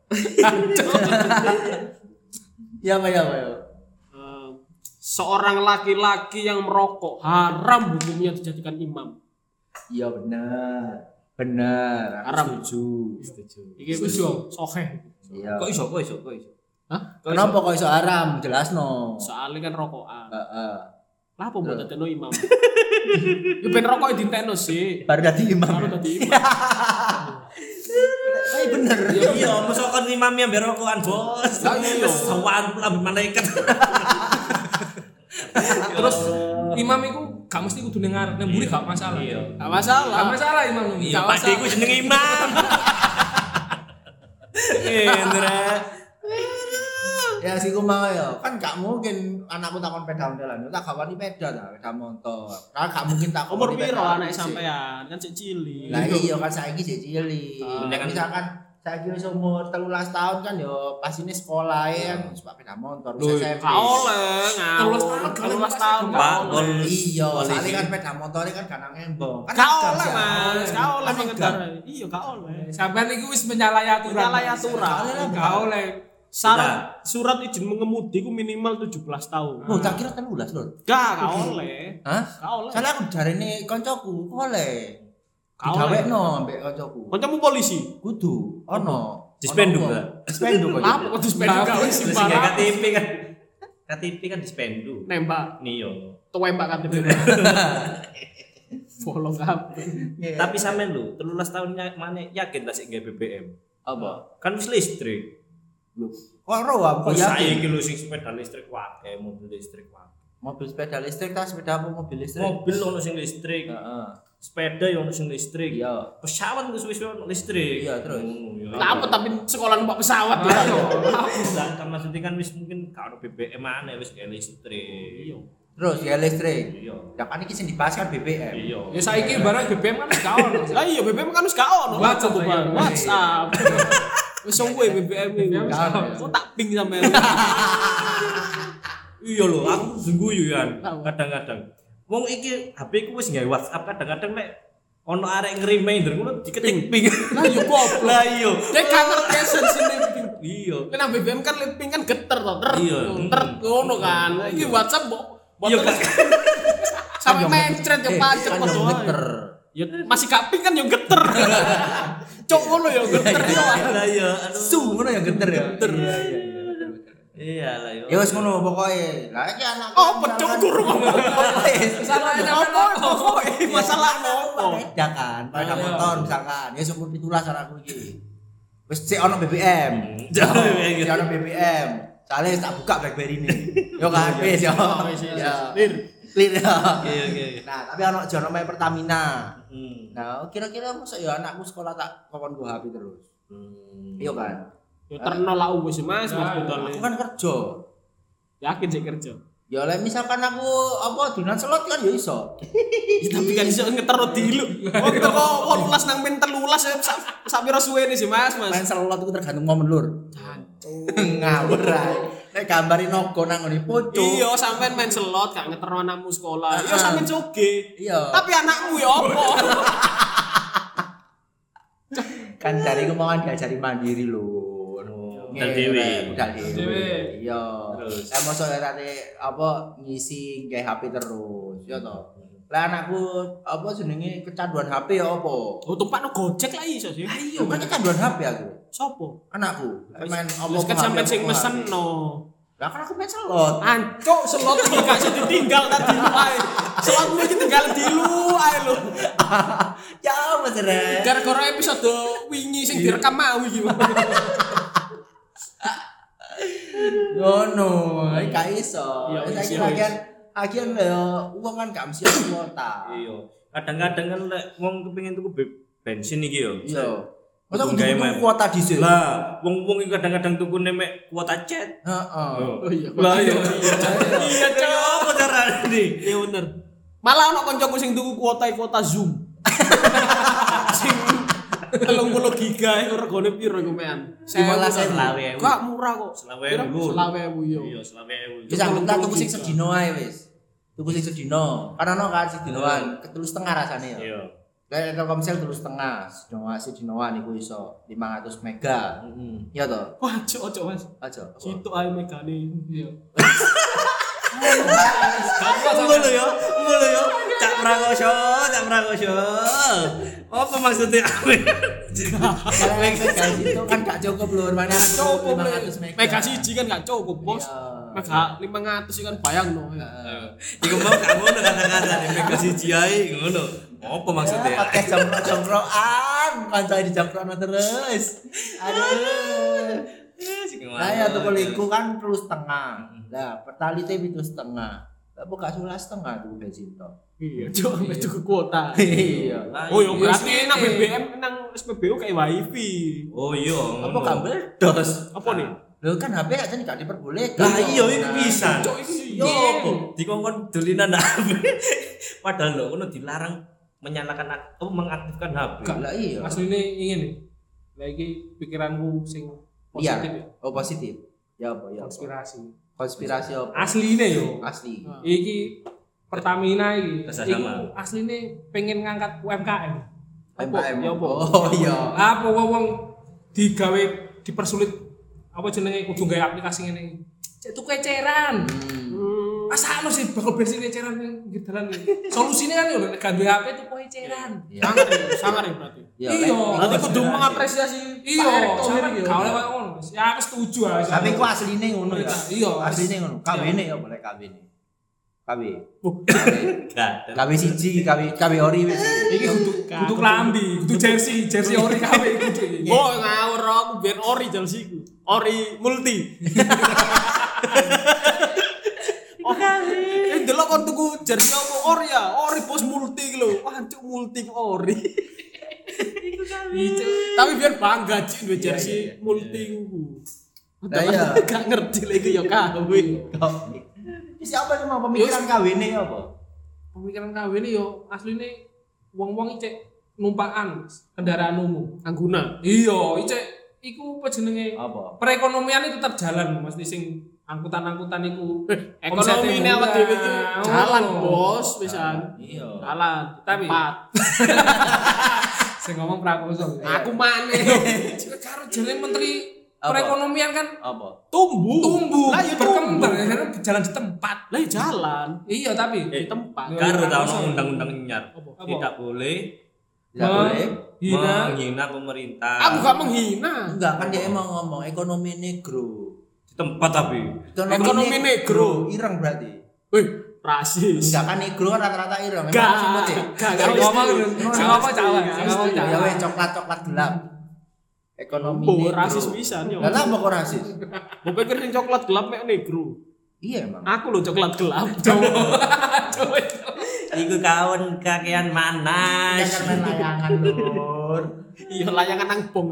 S2: Iya, Pak, ya, Pak. ya.
S1: Eh, seorang laki-laki yang merokok haram hukumnya dijadikan imam.
S2: Iya benar. Benar. Aku
S1: Haram.
S2: setuju.
S3: Setuju.
S1: Iki wis
S4: Setuju.
S1: sahih.
S2: Iya.
S3: Kok iso, kok iso, kok iso.
S1: Hah?
S2: Kenapa kok iso haram? Jelasno.
S1: Soalnya kan rokokan.
S2: Heeh.
S1: Lah apa mbok dadekno imam? Yo ben rokok dintekno sih.
S2: Baru dadi imam.
S1: Baru dadi imam.
S2: Iya bener.
S3: Iya, mosok kon imamnya biar rokokan, Bos.
S1: Lah iya.
S3: Sawan pula malaikat.
S4: Terus imam iku gak mesti kudu ning ngarep, ning mburi gak masalah.
S3: Iya.
S1: Gak masalah.
S4: Gak masalah imam.
S3: Iya,
S4: Gak
S3: Pak
S4: masalah.
S3: Deku jeneng imam. Indra.
S2: Ya sih ku mau ya. Kan gak mungkin anakku takon peda ontelan. Tak gawani peda ta, peda motor. Kan gak mungkin takon
S1: Umur
S2: peda
S1: piro
S2: ontelan
S1: anak
S2: sih.
S1: sampean? Kan sik cilik.
S2: Lah iya kan saiki sik cilik.
S3: Ah.
S2: Misalkan saiki wis umur tiga belas tahun kan yo pas ini sekolah ya kan suka peda motor
S1: Loh,
S2: wis S M P.
S1: gak oleh ngawur.
S4: telulas tahun,
S1: telulas tahun.
S3: Pak,
S1: gak oleh.
S2: Iya,
S3: Polisi.
S2: soalnya kan peda motornya kan gak nang embong. Kan
S1: Gak
S2: agak
S1: oleh,
S2: sih,
S1: Mas. Gak oleh
S2: Kan
S1: mengendarai. Iya, gak oleh.
S4: Sampean iku wis menyalahi aturan.
S1: Menyalahi aturan.
S4: Gak oleh.
S1: Syarat surat izin mengemudi ku minimal tujuh belas tahun.
S2: Oh, tak kira telulas lho.
S1: Gak, gak oleh.
S2: Hah?
S1: Gak oleh.
S2: Soalnya aku jarene koncoku, oleh.
S1: Gak oleh.
S2: Digawekno ambek koncoku.
S1: Kancamu polisi.
S2: Kudu ono.
S3: Dispendu,
S2: Ono
S3: Mbak.
S2: wong. Dispendu kok.
S1: Apa kok dispendu gak wis
S3: Terus gak K
S1: sembarang.
S3: T P kan. K T P kan dispendu.
S1: Nembak.
S3: Nih yo.
S1: Tembak K T P. Bolong kabeh.
S3: Tapi sampean lho, telulas tahun mana yakin lah sik nggawe B B M.
S2: Apa?
S3: Kan wis listrik.
S2: Lho, kok ro aku
S3: Kok
S2: yakin.
S3: saiki lho sing sepeda listrik wae, mobil listrik wae.
S2: Mobil sepeda listrik ta sepeda apa mobil listrik?
S3: Mobil ono sing listrik,
S2: Heeh.
S3: sepeda yo ono sing listrik.
S2: Iya.
S3: Pesawat wis wis ono listrik.
S2: Iya, terus?
S3: Ngono, ya.
S1: Lah apa tapi sekolah numpak pesawat ya.
S3: Lah kan maksudnya kan wis mungkin gak ono B B M aneh wis kayak listrik.
S1: Iya.
S2: Terus ya listrik.
S3: Iya.
S2: Ya kan iki sing dibahas kan B B M.
S3: Iya.
S4: Ya saiki barang B B M kan wis gak ono.
S1: Lah iya B B M kan wis gak ono.
S4: WhatsApp,
S1: Bang.
S4: iya.
S1: WhatsApp. Wis suwe B B M iki.
S2: Gak ono.
S1: Kok tak ping sampean.
S3: Iya lho, aku sengguyu kan.
S1: Apa?
S3: Kadang-kadang. Wong iki H P ku wis gawe WhatsApp, kadang-kadang nek ono arek nge-reminder ngono diketik ping.
S1: Lah yo goblok.
S3: Lah iya.
S1: Dek kan ngerti sini ping.
S3: Iya.
S1: Kena B B M kan ping kan geter to. Ter.
S3: Iya.
S1: Ter ngono kan. Iki WhatsApp mbok
S3: Iya kan.
S1: sampai mencret yo pancet
S2: Kan
S1: padha
S2: yang
S1: wae.
S2: geter.
S1: Ya masih kaping kan yo geter. Cok ngono yo geter yo.
S3: Lah iya, aduh.
S2: Su ngono yang geter ya. Geter. Iya iya iya.
S3: Iya lah yo.
S2: Ya wis ngono pokoke. Lah iki anak.
S1: Oh, pecuk guru ngomong.
S4: Salahnya
S1: Apa pokoke masalah ngopo?
S2: Ya kan, pada motor misalkan. Ya umur pitulas anakku iki. Wis sik ono B B M. Sik ono B B M. Soale tak buka BlackBerry ini. Yo kan wis yo. Ya.
S1: Lir.
S2: Clear ya.
S3: Iya iya.
S2: Nah, tapi ono jono main Pertamina.
S3: Hmm.
S2: Nah, kira-kira masa ya anakku sekolah tak kokon gua H P terus.
S3: Hmm.
S2: Iya kan?
S1: Yo terno lah wis Mas, Mas budal.
S2: Aku kan kerja.
S1: Yakin sih kerja.
S2: Ya oleh misalkan aku apa dinan slot kan ya iso.
S1: Ya, tapi kan iso ngetero dilu. Oh kita kok wolulas nang men telulas ya sak sak pira suwene sih Mas, Mas.
S2: Main slot itu tergantung momen lur. Ngawur ae. Nek gambari nogo nang ngene pucuk.
S1: Iya, sampean main slot gak ngetero anakmu sekolah. Iya sampean joge.
S2: Iya.
S1: Tapi anakmu ya apa?
S2: Kan dari kemauan diajari mandiri lho.
S3: Budal dhewe.
S2: Budal
S4: Dhewe.
S2: dhewe. Iya.
S3: Terus.
S2: Eh mosok ya tadi apa ngisi nggae H P terus, ya toh. Lah anakku apa jenenge kecanduan H P ya apa?
S1: Oh tumpakno Gojek lah iso sih.
S2: Iya, kan kecanduan H P aku.
S1: Sopo?
S2: Anakku. Main apa?
S1: Wis kan sampean sing mesenno.
S2: Lah kan aku main slot.
S1: Ancuk slot iki gak iso ditinggal tadi ae. Slotmu iki tinggal dilu ae lho.
S2: Ya Mas Rek.
S1: Gara-gara episode wingi sing direkam mau iki.
S2: Ngono, iki gak iso.
S1: Iya,
S2: Saiki
S1: iya,
S2: bagian akhir ya uang kan gak mesti kuota.
S3: Iya. Kadang-kadang kan lek wong kepengin tuku be- bensin iki yo.
S2: Iya. Masa
S3: Kudu
S2: kudu
S3: gawe
S2: tuku
S3: map.
S2: kuota dhisik.
S3: Lah, wong-wong iki kadang-kadang tukune mek kuota chat.
S2: Heeh.
S1: Oh iya.
S3: Lah iya.
S1: Iya, Cok.
S3: Apa carane?
S1: Iya bener. Malah ono koncoku sing tuku kuota kuota Zoom. Sing telung puluh giga iku regane piro iku mean?
S2: lima belas ewu.
S3: Selawe ewu.
S1: Gak murah kok.
S3: Selawe ewu.
S1: Selawe ewu yo.
S3: Iya, selawe ewu.
S2: Wis aku tak tuku sing sedino ae wis. Tuku sing sedino. Kan ono kan sedinoan, ketelu setengah rasane ya.
S3: Iya.
S2: Kayak Telkomsel telu setengah, sedinoan sedinoan iku iso lima ratus mega.
S3: Heeh.
S2: Iya toh?
S1: Wah, cok cok Mas.
S2: Aja.
S1: Situ ae megane.
S4: Iya.
S3: Ngono ya, ngono ya. Cak Prakoso, Cak Prakoso. Apa maksudnya?
S2: Kalau mega itu kan gak cukup lur, mana
S1: Cukup
S2: lima ratus mega.
S1: mega siji kan gak cukup, Bos.
S2: Iya.
S1: Mega lima ratus kan bayangno.
S3: Iku mau gak ngono kata-kata nih mega siji ae ngono. Apa maksudnya?
S2: Ya, podcast jongkro-jongkroan, kanca di jongkroan terus. Aduh. Nah ya tuku liku kan terus setengah. Lah pertalite itu setengah. Lah buka sulah setengah tuku bensin to.
S1: Iya, cok sampe tuku kuota.
S2: Iya.
S1: Oh iya berarti nang B B M nang S P B U kayak wifi.
S3: Oh iya,
S2: Apa kabel dos?
S1: Apa nih?
S2: Lho kan H P aja gak diperbolehkan.
S3: Lah iya iku bisa.
S1: Cok iki
S3: Yo, dikongkon dolinan H P. Padahal lho ngono dilarang menyalakan atau mengaktifkan H P.
S2: Lah iya.
S4: Asline ingin nih. Lagi pikiranku sing
S2: Iya.
S4: positif ya.
S2: Oh positif. Ya apa ya? apa?
S4: Konspirasi.
S2: Konspirasi apa?
S4: Asline yo.
S2: Asli.
S4: Iki Pertamina iki.
S3: Kerjasama.
S4: Iku asline pengen ngangkat U M K M.
S2: M K M.
S1: Ya apa?
S2: Oh iya.
S4: Apa wong digawe dipersulit apa jenenge kudu gawe aplikasi ngene iki. Cek tuku eceran.
S2: Hmm.
S4: Asa anu sih bakal bensin eceran ning dalan iki. Solusine kan yo nek gak duwe H P tuku eceran.
S2: Iya.
S1: sangar ya, sangar ya berarti.
S2: Iya.
S4: Iya.
S1: Berarti kudu mengapresiasi
S4: Iya,
S1: Pak Erick Thohir
S4: sampe
S1: iki ya.
S4: gak oleh koyo ngono. Ya aku setuju ae.
S2: Tapi ku asline ngono ya.
S4: Iya.
S2: Asline ngono. K W-ne ya boleh K W-ne. K W.
S1: Oh,
S3: Gak.
S2: K W siji, K W K W ori wis.
S4: Iki kudu kudu klambi, kudu jersey, jersey ori K W kudu iki.
S1: Oh, ngawur aku biar ori jalsiku. Ori multi. Oh, eh delok kon tuku jersey apa ori ya? Ori bos multi iki lho. Wah, cuk multi ku ori.
S4: Itu.
S1: Tapi biar bangga cik duwe jersey multi ku.
S2: Lah iya.
S1: Gak ngerti lagi ya K W.
S2: Siapa cuma pemikiran K W-ne apa?
S4: Pemikiran K W ini yo asline wong-wong iki cek numpakan kendaraan umum.
S1: Angguna.
S4: Iya, iki cek iku apa jenenge?
S2: Apa?
S4: Perekonomian itu tetap jalan, mesti sing angkutan-angkutan iku.
S1: Ekonomi ini awak dhewe iki jalan, Bos, pisan.
S2: Iya.
S1: Jalan,
S4: Tapi-
S1: tempat.
S4: Sing ngomong Prakoso.
S1: Aku maneh.
S4: Karo jenenge menteri
S2: Apa?
S4: perekonomian kan
S2: Apa?
S1: Tumbuh.
S4: tumbuh,
S1: Lah ya
S4: berkembang,
S1: tumbuh.
S4: karena jalan di tempat.
S1: Lah ya jalan
S4: Iya, tapi
S1: di tempat.
S4: Iya.
S3: Karo ta ono undang-undang nyar.
S4: Apa?
S3: Tidak boleh
S2: Tidak boleh.
S4: Hina.
S3: menghina pemerintah.
S1: Aku gak menghina.
S2: Enggak kan dia emang ngomong ekonomi negro.
S3: Di tempat tapi.
S1: Ekonomi negro.
S2: Ireng berarti.
S1: Wih, rasis.
S2: Enggak kan negro kan rata-rata ireng.
S1: Gak,
S2: Emang semut ya?
S1: gak,
S4: Sing
S1: gak
S4: ngomong
S1: mesti.
S4: sing ngomong Jawa,
S1: Gak
S4: sing ngomong
S1: mesti.
S2: Ya
S4: Jawa.
S2: weh coklat-coklat gelap. Ekonomi
S1: Oh,
S2: negro.
S1: rasis pisan yo.
S2: Lah apa kok rasis?
S1: Mbok pikir sing coklat gelap mek negro.
S2: Iya emang.
S1: Aku lho coklat gelap.
S3: Iku kawan kakean
S2: Iya
S3: manas.
S2: kan main layangan lur.
S1: Iya layangan nang bong.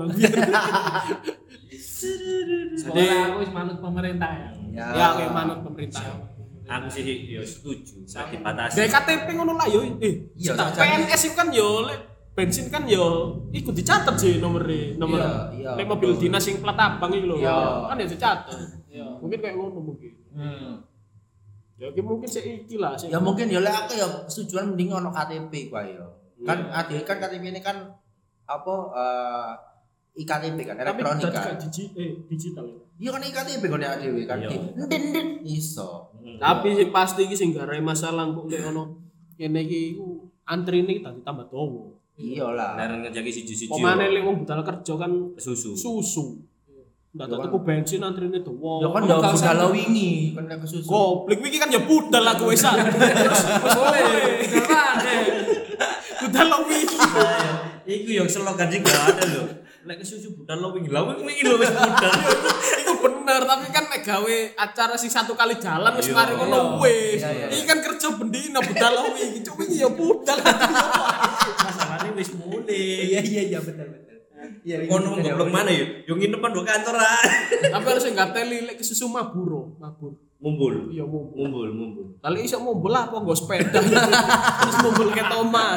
S4: Soalnya aku wis manut pemerintah ya.
S2: Ya.
S1: Ya kayak manut pemerintah.
S3: Aku sih yo setuju. Sak dibatasi.
S1: Kayak K T P ngono lah yo. Eh,
S2: Iya,
S1: tak
S2: tak
S1: P N S itu kan yo lek bensin kan yo ikut dicatat sih nomornya nomor
S2: Iya, iya,
S1: lek mobil
S2: betul.
S1: dinas sing plat abang iki lho.
S2: Iya.
S1: Kan ya dicatat.
S4: Iya.
S1: Mungkin kayak ngono mungkin.
S2: Hmm.
S1: Ya ki mungkin sik iki lah sik.
S2: Ya mungkin ya lek aku ya setujuan mending ono K T P kuwi ya. Kan
S1: Iya.
S2: ada kan K T P ini kan apa eh I K T P kan
S1: Tapi
S2: elektronik
S1: dadi
S2: kan.
S1: gak digi eh digital ya.
S2: Iya kan I K T P kan ya dhewe kan.
S3: Iya.
S2: Ndin-ndin iso.
S3: Hmm.
S1: Tapi sing pasti iki sing garai masalah kok lek ono kene iki iku antrine iki dadi tambah dawa.
S2: Iyalah.
S3: Larang ngejaki siji-siji.
S1: Pemane lek wong budal kerja kan
S3: susu.
S1: susu. Ndak
S2: Ya
S1: tak
S2: kan.
S1: tuku bensin antrine dawa.
S2: Ya kan ya budal wingi kan nek kesusu.
S1: Goblok iki kan ya budal aku wisan. Terus wis boleh. Budal wingi.
S3: Iku yo slogan sing gak ada lho. Lek kesusu budal lo wingi. Lah wingi lho wis budal.
S1: Iku bener tapi kan mek gawe acara sing satu kali jalan wis
S3: Iya.
S1: mari ngono wis.
S2: Iya, iya, iya.
S1: Iki kan kerja bendina budal wingi. Cuk wingi ya budal.
S3: Masalahnya wis mulai.
S2: Iya iya iya betul betul. Iya,
S3: Kono goblok mana ya? Yo nginepan do kantor ah.
S1: Tapi harus enggak teli lek ke susu maburo, mabur.
S3: Mumbul.
S1: Iya mumbul.
S3: Mumbul, mumbul.
S1: Kali iso mumbul apa nggo sepeda. Terus mumbul ke omah.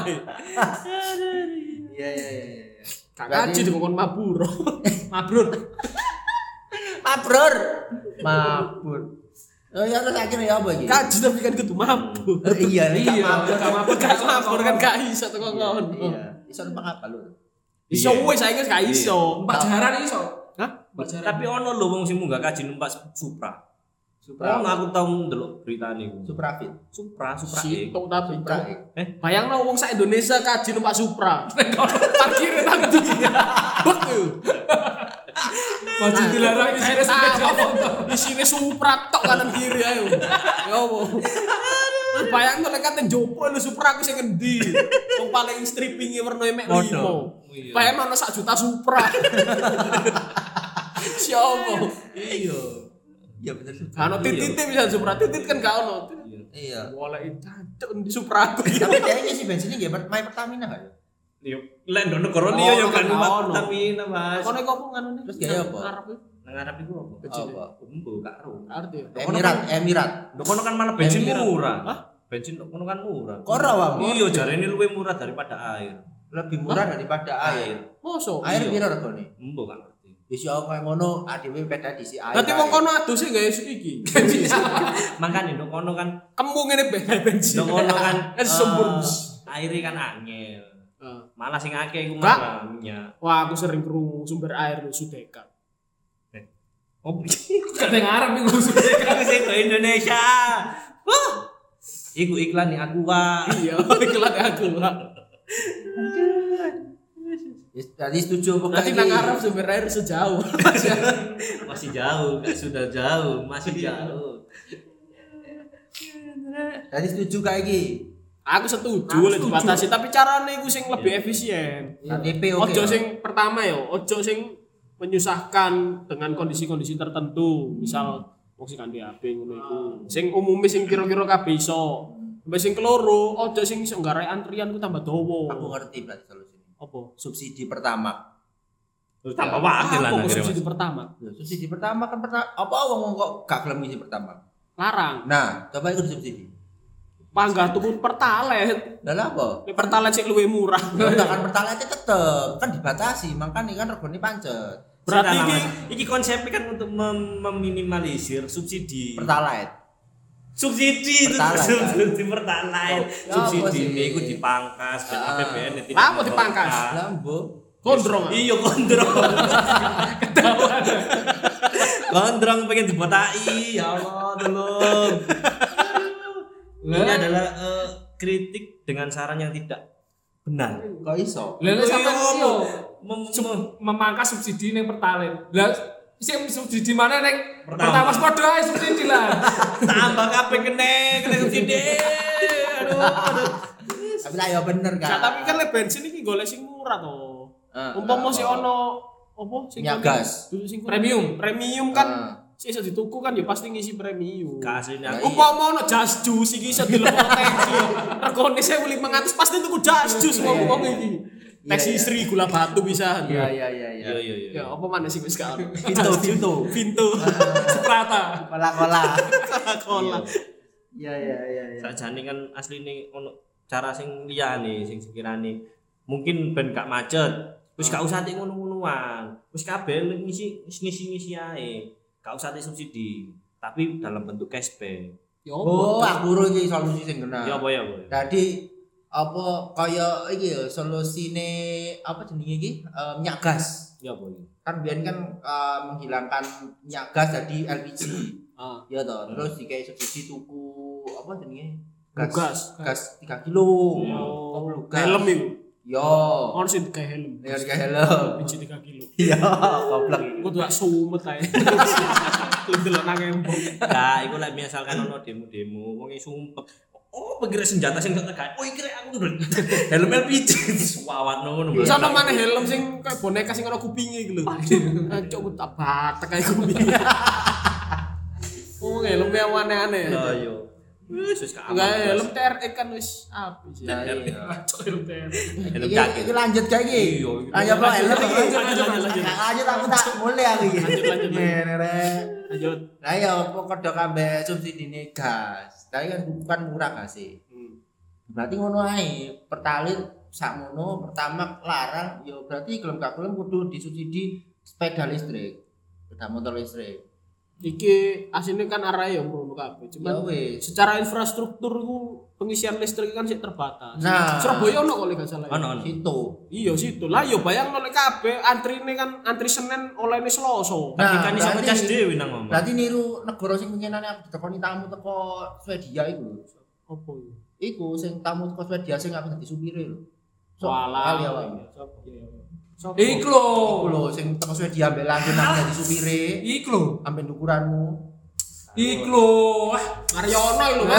S2: Iya iya iya.
S1: Gak kaji dikon maburo. Mabrur.
S2: Mabrur. Mabur. Oh ya terus akhirnya ya apa iki?
S1: Kaji tapi kan kudu mabur.
S2: Iya,
S4: Iya,
S2: mabur.
S4: gak mabur
S1: Gak mabur kan gak iso teko ngono.
S2: Iya. Iso numpak apa lu?
S1: Iso wis saiki gak iso.
S4: Mbak jaran iso.
S1: Hah?
S4: Mbak jaran.
S3: Tapi ono lho wong sing munggah kaji numpak Supra.
S2: Supra.
S3: Oh, aku tau ndelok berita niku.
S2: Suprafit.
S3: Supra, Supra.
S1: Sitok tapi
S2: Supra.
S3: Eh,
S1: bayangno wong sak Indonesia kaji numpak Supra. Parkir nang ndi? Bek.
S4: Maju dilarang isine sepeda motor.
S1: Isine Supra tok kanan kiri ayo. Ya opo. Bayangno lek kate njopo lho Supra aku sing ngendi. Wong paling strippinge werna mek limo. Bayangno ana sak juta Supra. Siapa?
S3: iya.
S2: Iya bener.
S1: Ano titit bisa Supra titit kan gak ono.
S2: Iya.
S1: Boleh cancuk di Supra aku.
S2: Tapi dia ini sih bensinnya nggih My Pertamina kan?
S3: Yo, lek ndono kono liya yo kan
S1: Oh,
S3: numpak
S1: ono.
S3: Pertamina, Mas.
S1: Kono iku apa nganune?
S2: Terus gaya apa?
S1: Arab iku.
S3: Nang ngarep iku apa?
S2: Apa?
S3: Umbo gak ero.
S1: Arti.
S2: Emirat, Emirat.
S3: Ndok kono kan malah bensin
S2: Emirat.
S3: murah.
S1: Hah?
S3: Bensin ndok kono kan murah.
S2: Kora wae.
S3: Iya, jarene luwih murah daripada air.
S2: Lebih murah daripada air.
S1: Mosok.
S2: Air
S3: Iya.
S2: piro regane?
S3: Umbo gak ngerti.
S2: Wis yo kaya ngono adewe peda disi air.
S1: Dadi wong kono aduse gawe iki.
S3: Makane ndok kono kan
S1: Kemu ngene ben bensin.
S3: ndok kono kan
S1: Es sembur.
S3: eh, aire kan angel.
S1: Ah.
S3: Malah sing akeh iku
S1: Kak.
S3: marahnya.
S1: Wah, aku sering krungu sumber air lu Sudeka.
S3: Oh,
S4: Gak ada ngarep iku sudah.
S3: aku sing ke Indonesia. Wah. Iku iklan nih aku wah.
S1: Iya, iklan aku lah.
S2: Wis tadi setuju apa
S1: Berarti nang Arab sumber air sejauh.
S3: Masih jauh, gak sudah jauh, masih jauh.
S2: Tadi setuju kayak iki.
S1: Aku setuju
S4: Aku
S1: lek
S4: setuju.
S1: dibatasi, tapi carane iku sing lebih efisien.
S2: K T P oke.
S1: Ojo sing pertama ya, ojo sing menyusahkan dengan kondisi-kondisi tertentu. Misal wong sing kanthi H P ngono iku. Sing umume sing kira-kira kabeh iso. Sampai sing keloro, ojo sing iso nggarai antrian ku tambah dawa.
S2: Aku ngerti berarti solusinya.
S1: Apa?
S2: Subsidi pertama.
S3: Terus tambah wakil lah
S1: Apa
S3: akhirnya,
S1: subsidi
S3: Mas.
S1: pertama?
S2: Ya, subsidi pertama kan pertama apa wong kok gak gelem ngisi pertama.
S1: Larang.
S2: Nah, coba ikut subsidi.
S1: Panggah tuku pertalite.
S2: Lah lha apa?
S1: Nek pertalite sing luwih murah.
S2: Lah kan pertalite tetep kan dibatasi, makanya kan regane pancet.
S1: Berarti
S3: Sekarang,
S1: iki
S3: Mas, iki konsepnya kan untuk mem- meminimalisir subsidi.
S2: Pertalite.
S3: Subsidi itu
S2: Pertalite, kan?
S3: subsidi pertalite.
S2: Ya,
S3: Subsidi
S2: apa sih?
S3: ini iku dipangkas ben
S2: Ah.
S3: A P B N tidak.
S1: Lah, apa dipangkas?
S3: merokok.
S2: Lah mbok.
S1: gondrong. ah.
S3: Iya gondrong. Gondrong pengen dibotai. Ya Allah, tolong. Ini adalah eh, kritik dengan saran yang tidak benar.
S2: Kok iso?
S4: Lah nek sampean
S3: Iya,
S4: yo
S3: mem-
S4: sub-
S3: mem-
S4: memangkas subsidi ning Pertalite. Lah sing subsidi mana ning
S3: Pertama.
S4: Pertamax padha ae subsidi lah.
S3: tambah kabeh kene kene subsidi. Aduh, aduh.
S2: Tapi lah ya bener
S1: Nah,
S2: kan.
S1: tapi kan le bensin iki golek sing murah to.
S2: Ah,
S1: Umpama
S2: apa?
S1: sih ono apa sing
S2: Minyak
S1: kuning-
S2: gas.
S1: dulu sing kuning.
S4: Premium.
S1: Premium kan
S2: Ah.
S1: sih iso dituku kan ya pasti ngisi premium.
S3: Kasihnya
S2: Nah,
S3: aku
S1: Umpama ono jas jus iki iso dilepok tangki. Regane seribu lima ratus pasti tuku jas jus wong-wong iki.
S2: Iya,
S1: Taksi
S2: iya.
S1: istri gula batu bisa.
S2: Iya iya iya iya.
S3: Iya iya iya.
S1: Ya apa mana sih wis gak ono.
S2: Vinto Vinto.
S1: Vinto.
S4: Seprata.
S2: Kola-kola.
S1: Coca-Cola.
S2: Iya iya iya iya.
S3: Sakjane kan asline ono cara sing liyane sing sekirane mungkin ben gak macet. Wis gak usah tik ngono-ngonoan. Wis kabeh ngisi ngisi-ngisi ae. Gak usah tik subsidi, tapi dalam bentuk cashback.
S1: Ya
S2: Oh,
S1: apa?
S2: aku ro iki solusi sing kena.
S3: Ya apa ya, apa ya?
S2: Jadi apa kaya iki ya solusine apa jenenge iki? Eh, minyak gas.
S3: Ya apa iki?
S2: Kan biyen kan eh, menghilangkan minyak gas jadi L P G.
S1: Ah.
S2: Ya toh, terus dikai subsidi tuku apa jenenge?
S1: Gas.
S2: Gas tiga kilo.
S1: Oh,
S2: Oh, gas.
S1: helm itu.
S2: Yo.
S1: Ono sing kayak helm.
S2: Ya dikai helm.
S1: Biji tiga kilo.
S2: Iya, goblok iki.
S1: Aku tuh gak sumet ae. Lu delok nang embong.
S3: Nah, iku lek misalkan ono demo-demo wong e sumpek. Oh, pengira senjata sing tak tekan. Oh, iki rek aku ndel. Helm L P G suwawat ngono.
S1: Terus ana maneh helm sing kayak boneka sing ana kupinge iki lho. Cok ku tak batek kayak kupinge. Oh, helm yang aneh-aneh.
S3: Ya yo. Wis wis gak
S1: Enggak
S3: aman.
S1: helm T R X kan wis apik sih.
S2: Nah, iya.
S4: Cok helm T R.
S3: Helm
S2: Iki
S3: jaket.
S2: iki lanjut gak iki?
S3: Iya,
S2: Ayo Pak, helm iki.
S1: lanjut, lanjut, lanjut.
S2: Gak lanjut aku tak mulai aku iki.
S1: Lanjut, lanjut, lanjut.
S2: Ngene rek.
S1: Lanjut.
S2: Nah ya apa kodok ambek subsidine gas. Tapi kan bukan murah gak sih?
S1: Hmm.
S2: Berarti ngono ae. Pertalite sakmono pertama larang ya berarti gelem gak gelem kudu disubsidi sepeda listrik. Sepeda motor listrik.
S1: Iki asine kan arahe ya ngono kabeh.
S2: Ya
S1: Cuman
S2: wis.
S1: secara infrastruktur ku pengisian listrik kan sih terbatas.
S2: Nah.
S1: Surabaya ono kok lek gak salah. ya?
S3: Ono ono.
S2: Situ.
S1: Iya situ. Lah yo bayang lek kabeh antrine kan antri Senin olehne Selasa.
S2: Nah,
S3: Kan iso
S2: berarti-
S3: ngecas dhewe nang ngomong.
S2: Berarti niru negara sing pengenane aku ditekoni tamu teko Swedia iku lho.
S1: Apa iki?
S2: Iku sing tamu teko Swedia sing aku dadi supire lho. Sok
S1: Walah.
S2: kali awak.
S1: Sopo? Iya, iya. Sopo?
S4: Iku lho.
S2: Iku lho sing teko Swedia ambek langgeng nang dadi supire
S4: Iku lho.
S2: ambek ukuranmu.
S4: Iku lho. Ah,
S1: Mariono iki lho, Mas.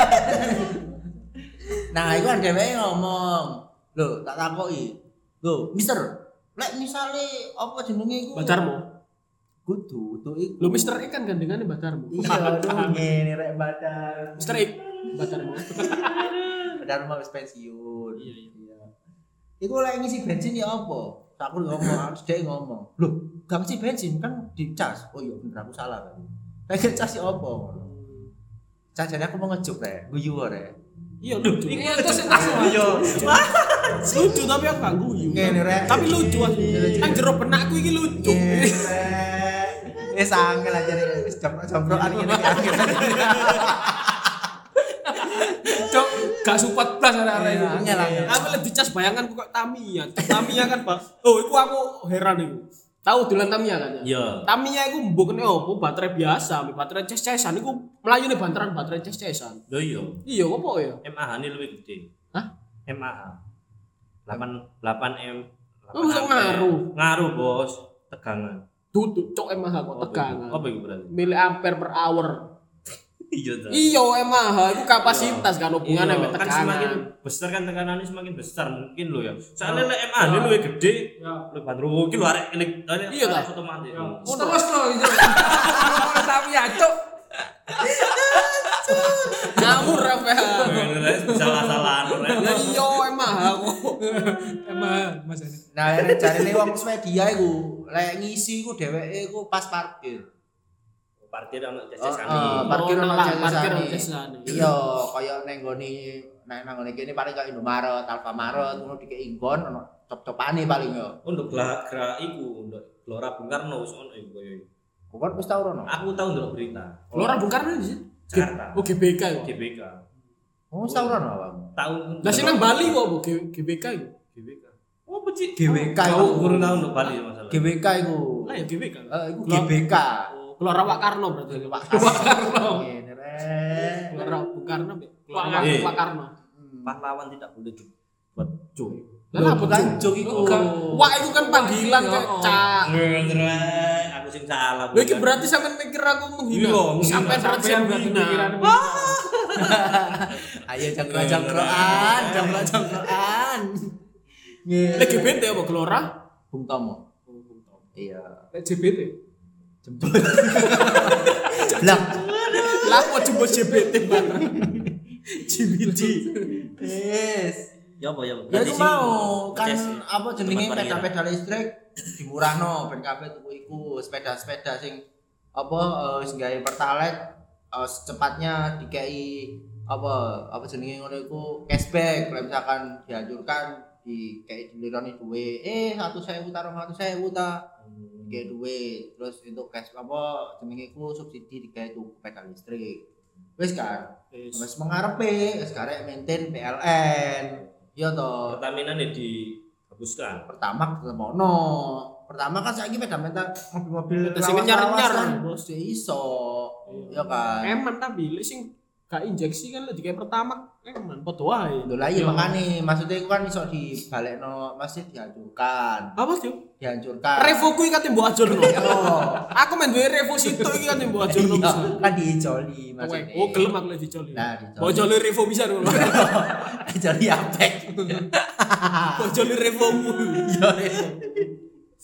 S2: Nah, iku kan dheweke ngomong. Lho, tak takoki. Lho, Mister, lek misale apa jenenge iku?
S1: Bacarmu.
S2: Kudu, kudu iku.
S1: Lho Mister X kan gandengane Bacarmu.
S2: Iya, aduh ngene rek badan.
S1: Mister X Bacarmu.
S2: Badan mau wis pensiun.
S1: Iya, iya.
S2: Iku lek ngisi bensin ya apa? Aku ngomong, dhek ngomong. Lho, gak ngisi bensin kan dicas. Oh iya bener aku salah kan. Lek cas ya apa ngono. Cajane aku mau ngejuk rek, guyu rek.
S1: Iya lucu.
S4: Iya terus tas.
S3: Iya.
S1: Lucu tapi aku gak guyu.
S2: Ngene rek.
S1: Tapi lucu asli. Nang jero benakku iki lucu.
S2: Ngene rek. Wis angel aja rek, wis jompro-jomprokan ngene iki.
S4: Cok gak support plus arek-arek iki.
S2: Angel angel.
S1: Aku lek dicas bayangan kok Tamiya. Tamiya kan, Pak. Oh, iku aku heran iku. Tahu dolan Tamiya kan? ya?
S3: Iya.
S1: Tamiya iku mbokne opo? Baterai biasa, baterai ces-cesan iku melayune banteran baterai ces-cesan.
S3: Lho iya.
S1: Iya, opo ya?
S3: M A H ini lebih gede.
S1: Hah?
S3: M A H. delapan M.
S1: Oh, masuk ngaruh.
S3: Ngaruh, Bos. Tegangan.
S1: Tutup cok M A H kok tegangan.
S3: Apa itu berarti?
S1: Miliampere per hour.
S3: Iya ta.
S1: Iya, M A H itu kapasitas kan hubungannya
S3: Iya,
S1: sama
S3: kan semakin
S1: tekanan.
S3: besar kan tekanannya semakin besar mungkin lo ya. Soalnya lek M A ini lebih gede.
S4: Ya.
S3: Lebih bandro iki lho arek ini
S1: Iya ta?
S3: otomatis.
S4: Ya. Terus lho iki. Tapi ya cok.
S1: Ngawur apa ya?
S3: Salah-salahan rek.
S1: Lah iya M A H kok.
S4: Emang Mas ini.
S2: Nah, lek jarine wong Swedia iku, lek ngisi iku dheweke iku pas parkir.
S3: Parkir ana
S2: Oh,
S3: ces-cesan.
S2: oh, parkir
S1: Oh,
S2: ono
S1: nang- parkir ono
S2: cesane.
S1: cesane.
S2: Iya, kaya ning nggone nek nang ngene kene paling kaya Indomaret, Alfamaret ngono dikek inggon ono cop-copane paling yo.
S3: Untuk gerak iku, untuk Gelora Bung Karno wis ono iku koyo iki.
S2: Kok wis tau rono?
S3: Aku tahu ndelok berita.
S1: Gelora Bung Karno di sini.
S3: Jakarta.
S1: Oh G B K ya.
S3: G B K.
S2: Oh, wis tau rono awak.
S3: Tahun
S1: Lah sing nang Bali kok Bu, G- GBK iku.
S3: G B K. Oh, peci.
S2: G W K
S3: Kau
S2: iku.
S3: kurang tahu untuk Bali masalah.
S2: G W K iku.
S1: Lah ya G B K.
S2: Eh, iku G B K.
S1: Oh, Gelora Wak Karno berarti.
S2: Pak Karno. Ngene rek.
S1: Gelora Bung Karno. Gelora
S3: Wak- eh.
S1: Wak Karno.
S3: Pahlawan tidak boleh dibuat cuy.
S1: Lah apa
S2: bukan
S1: Cuk?
S2: jok iku.
S1: Wah, itu kan panggilan
S4: Iya,
S1: kayak
S4: oh.
S1: cak.
S3: Ngerek, aku sing salah.
S1: Lha iki berarti sampean mikir aku menghina.
S3: Iya, menghina.
S1: Sampai berat
S4: Sampean berarti
S1: menghina.
S4: pikiran.
S2: Ayo jangkro-jangkroan, jangkro-jangkroan.
S1: Lek G B T apa Gelora?
S2: Bung Tomo. Iya.
S4: Lek J B T.
S2: Jemput. Blak.
S1: Lah kok jemput G B T bareng. G B T.
S2: Yes.
S3: Ya apa ya?
S2: Ya
S3: Berarti
S2: itu
S3: sing
S2: mau kan
S3: ngeces
S2: apa jenenge
S3: tempat parkir.
S2: sepeda-sepeda listrik dimurahno ben kabeh tuku iku sepeda-sepeda sing apa eh, sing gawe pertalite eh, secepatnya dikei apa apa jenenge ngono iku cashback kalau misalkan dihancurkan dikei dilironi duwe eh seratus ribu ta dua ratus ribu ta dikei duwe terus untuk cash apa jenenge iku subsidi digawe tuku sepeda listrik wis kan
S1: Wis.
S2: wis mengarepe wis karek maintain P L N iya toh
S3: Pertamina nih dihapuskan.
S2: pertama tetep ono. Pertama kan saiki sepeda mental mobil-mobil
S1: Sing nyar-nyar,
S2: kan
S1: Bos.
S2: bos iso. Ya kan.
S1: Eman tapi lek sing gak injeksi kan lek dikai pertama eman padha wae.
S2: Lho lah iya makane maksudnya iku kan iso dibalekno masih dihancurkan.
S1: Apa sih?
S2: Dihancurkan.
S1: Revo kuwi kate mbok ajurno.
S2: Yo.
S1: Aku main duwe Revo situ iki kate mbok ajurno
S2: Iya,
S1: bisa.
S2: kan diijoli maksudnya.
S1: Oh, gelem aku lek dicoli.
S2: Nah, dicoli.
S1: Mbok joli Revo bisa ngono.
S2: Dijoli apek.
S1: Mbok joli Revomu.
S2: Yo.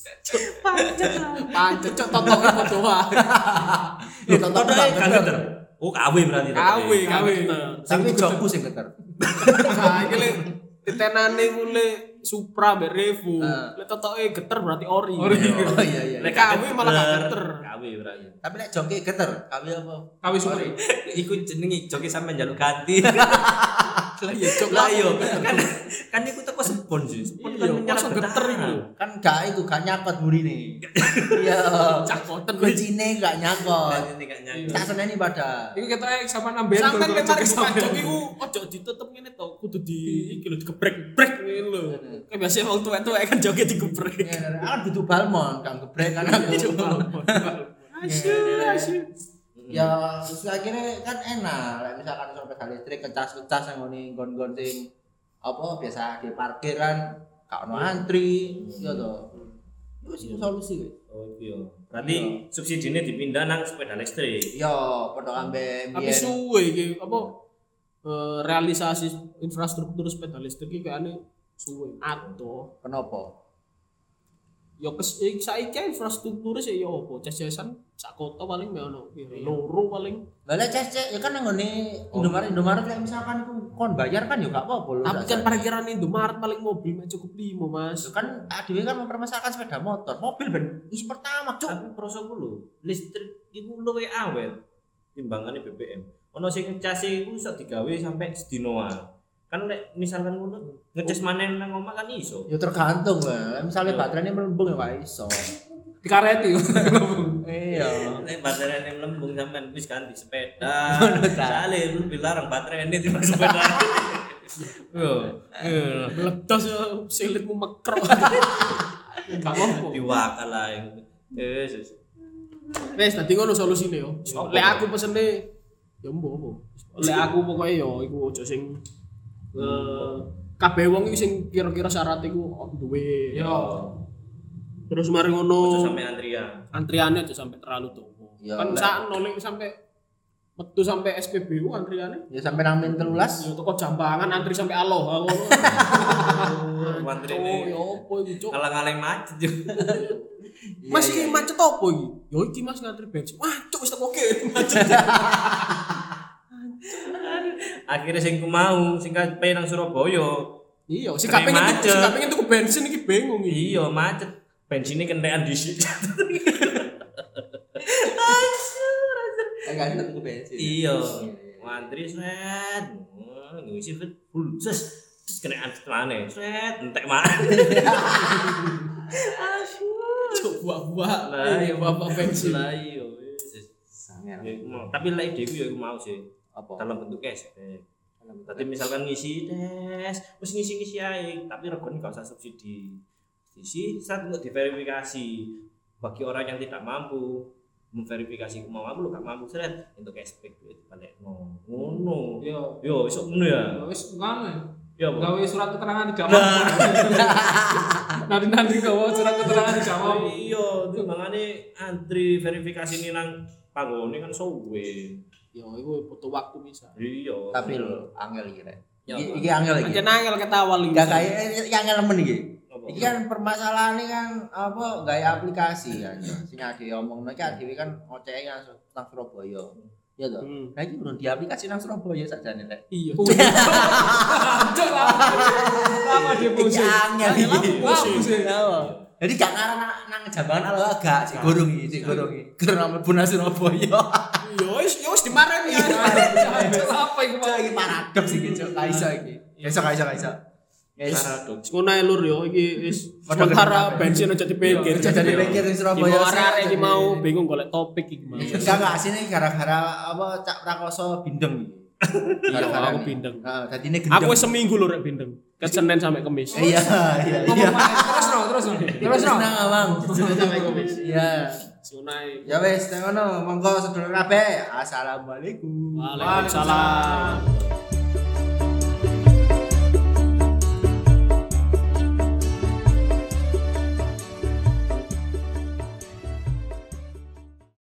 S1: Pancet cok totoke padha wae.
S2: Lho tonton
S3: Totoke
S2: Bang
S3: gak
S2: Bener.
S3: bener. Oh, K W berarti.
S1: K W, K W.
S2: Tapi jokku sing keter.
S1: Nah, iki le ditenane ku le Supra mbek Revo.
S2: Ah.
S1: Lek totoke geter berarti ori.
S4: Ori.
S2: Oh iya iya.
S1: Lek K W malah gak geter.
S3: K W berarti.
S2: Tapi nek joki geter, kawi apa?
S4: Kawis Supri.
S3: Iku jenenge joki sampe njaluk ganti.
S1: Lah ya cok
S3: Lah yo kan kan iku teko spon sih. Spon kan
S1: Iya,
S3: nyerap
S1: masa geter iku.
S2: Kan gak iku gak nyakot burine. Iya.
S1: Cakoten
S2: Kuncine gak nyakot.
S3: Ini gak nyangka.
S2: Tak seneni pada.
S4: Iku ketoke sampean amben
S1: Sampai
S4: gol-gol
S1: lemar
S4: joki
S1: buka
S4: sampean.
S1: jok iku ojo ditutup ngene to, kudu di iki lho digebrek brek ngene lho. Kayak biasa wong tuwek-tuwek kan joge digebrek.
S2: Iya, aku butuh balmon, kang gebrek kan aku.
S1: Asyik, asyik.
S2: Ya, terus akhirnya kan enak. Like, misalkan soal sepeda listrik kecas-kecas yang ngoni gon-gon sing apa biasa di parkir kan gak ono antri, ya toh. Itu sih solusi.
S3: Oh iya. Berarti subsidinya dipindah nang sepeda listrik.
S2: Yo, padha ambe
S1: Tapi suwe iki apa eh, realisasi infrastruktur sepeda listrik iki kayaknya suwe. Ato.
S2: kenapa?
S1: Ya kes eh, saiki infrastruktur sih ya apa? Ces-cesan sak kota paling me ono loro paling.
S2: Lah lek cek ya kan nang ngene Indomaret Indomaret lek misalkan ku kon bayar kan yo gak apa-apa lho.
S1: Tapi kan parkiran Indomaret paling mobil mah cukup limo, Mas.
S2: Yo kan adewe kan mempermasalahkan sepeda motor. Mobil ben isi pertama, Cuk.
S3: Tapi prosoku lho, listrik iku luwih awet timbangane B B M. Ono sing ngecase iku iso digawe sampai sedinoan. Kan lek misalkan ngono ngecas manen nang omah kan iso.
S2: Ya tergantung lah. Misalnya baterainya melembung ya gak iso.
S4: Dikareti.
S2: Iya.
S3: Nek baterainya melembung sampean wis ganti sepeda. Sale lu dilarang baterainya di sepeda. Yo.
S1: Meledos ya silitmu mekrok. Gak apa-apa.
S3: Diwakal lah. Yes.
S1: Wes dadi ngono solusine yo. Lek aku pesene ya mbok apa. Lek aku pokoke yo iku aja sing eh kabeh wong iki sing kira-kira syarat iku duwe.
S3: Yo.
S1: Terus mari
S3: Ojo
S1: ngono
S3: sampe antrian.
S1: antriannya aja sampai terlalu tuwa.
S2: Ya,
S1: Kan
S2: lek-
S1: sakno lek sampai metu sampai S P B U antriannya.
S2: Ya sampai nang min telulas.
S1: Ya toko jambangan antri sampai Aloha ngono.
S3: Antri
S1: Oh,
S3: ini
S1: ya opo iki, Cuk?
S3: ngalang-ngalang macet yo.
S1: Mas iki macet opo iki? Ya iki Mas ngantri bensin. Wah, Cuk wis teko kene macet.
S3: Akhirnya sing ku mau sing kape nang Surabaya.
S1: Iya, si
S3: Kering
S1: kaping itu,
S3: macet.
S1: si kaping itu ke bensin iki bingung iki.
S3: Iya macet. Bensinnya kentekan dhisik.
S2: Enggak ada tuku bensin.
S3: Iya. Ngantri set. Ngisi full. Terus terus kena antri maneh. Set entek maneh.
S1: Coba buah.
S3: Lah
S1: Iya, bapak bensin.
S3: Lah iya.
S2: Sangar.
S3: Ya iku mau. Tapi lek ide ku ya iku mau sih.
S2: Apa?
S3: Dalam bentuk cashback. Tadi misalkan ngisi tes, terus ngisi-ngisi aja, tapi regane gak usah subsidi. Isi saat untuk diverifikasi bagi orang yang tidak mampu memverifikasi mau mampu lu gak mampu seret untuk cashback duit balik no ngono
S4: Yo.
S3: yo iso ngono ya
S4: Ya wis ngono.
S3: ya apa
S4: Gawe surat keterangan tidak mampu. Nanti nanti gawe surat keterangan tidak mampu.
S3: iya itu makanya antri verifikasi ini nang panggone kan suwe
S1: Ya, itu butuh waktu bisa.
S3: iya
S2: Tapi lho, angel iki rek.
S3: Ya,
S2: Iki iki angel iki.
S1: Aja nangel ketawal iki.
S2: Enggak kayak iki angel men iki.
S3: Apa?
S2: Iki kan permasalahan ini kan apa gaya aplikasi kan. Sing ade omongno iki adewe kan oceke nang nang Surabaya. Iya toh.
S1: Hmm.
S2: Nah iki urung di aplikasi nang Surabaya sakjane rek.
S1: Iya.
S4: Cok lama. Lama dia
S2: Iki
S4: pusing.
S2: angel iki.
S4: Lama pusing.
S2: Jadi gak ngarang nang, nang jambangan ala agak sik gorong iki, sik gorong iki. Karena mlebu nang Surabaya.
S1: Ya wis, ya wis dimarahin ya.
S4: Apa iku
S2: Cok iki paradoks iki, Cok. Ka iso iki. Ka iso, ka iso, ka iso. Guys,
S3: paradoks
S1: Ngono ae lur yo iki wis
S2: Padha
S1: sementara
S2: gedhe
S1: bensin aja dipikir.
S2: Aja dipikir di Surabaya.
S1: Surabaya arek iki mau bingung golek topik iki mau.
S2: enggak enggak sini gara-gara apa Cak Prakoso bindeng iki.
S1: Iya,
S2: Gara-gara
S1: aku
S2: ini.
S1: bindeng.
S2: Heeh, dadine gendeng.
S1: Aku wis seminggu lho rek bindeng. Ke Senin sampai Kamis.
S2: Iya, iya, iya.
S4: Terus no, terus no. Terus no.
S2: Senang Bang. Sampai Kamis. Iya.
S1: Sunai.
S2: Ya wis, ngono, monggo sedulur kabeh. Assalamualaikum.
S1: Waalaikumsalam.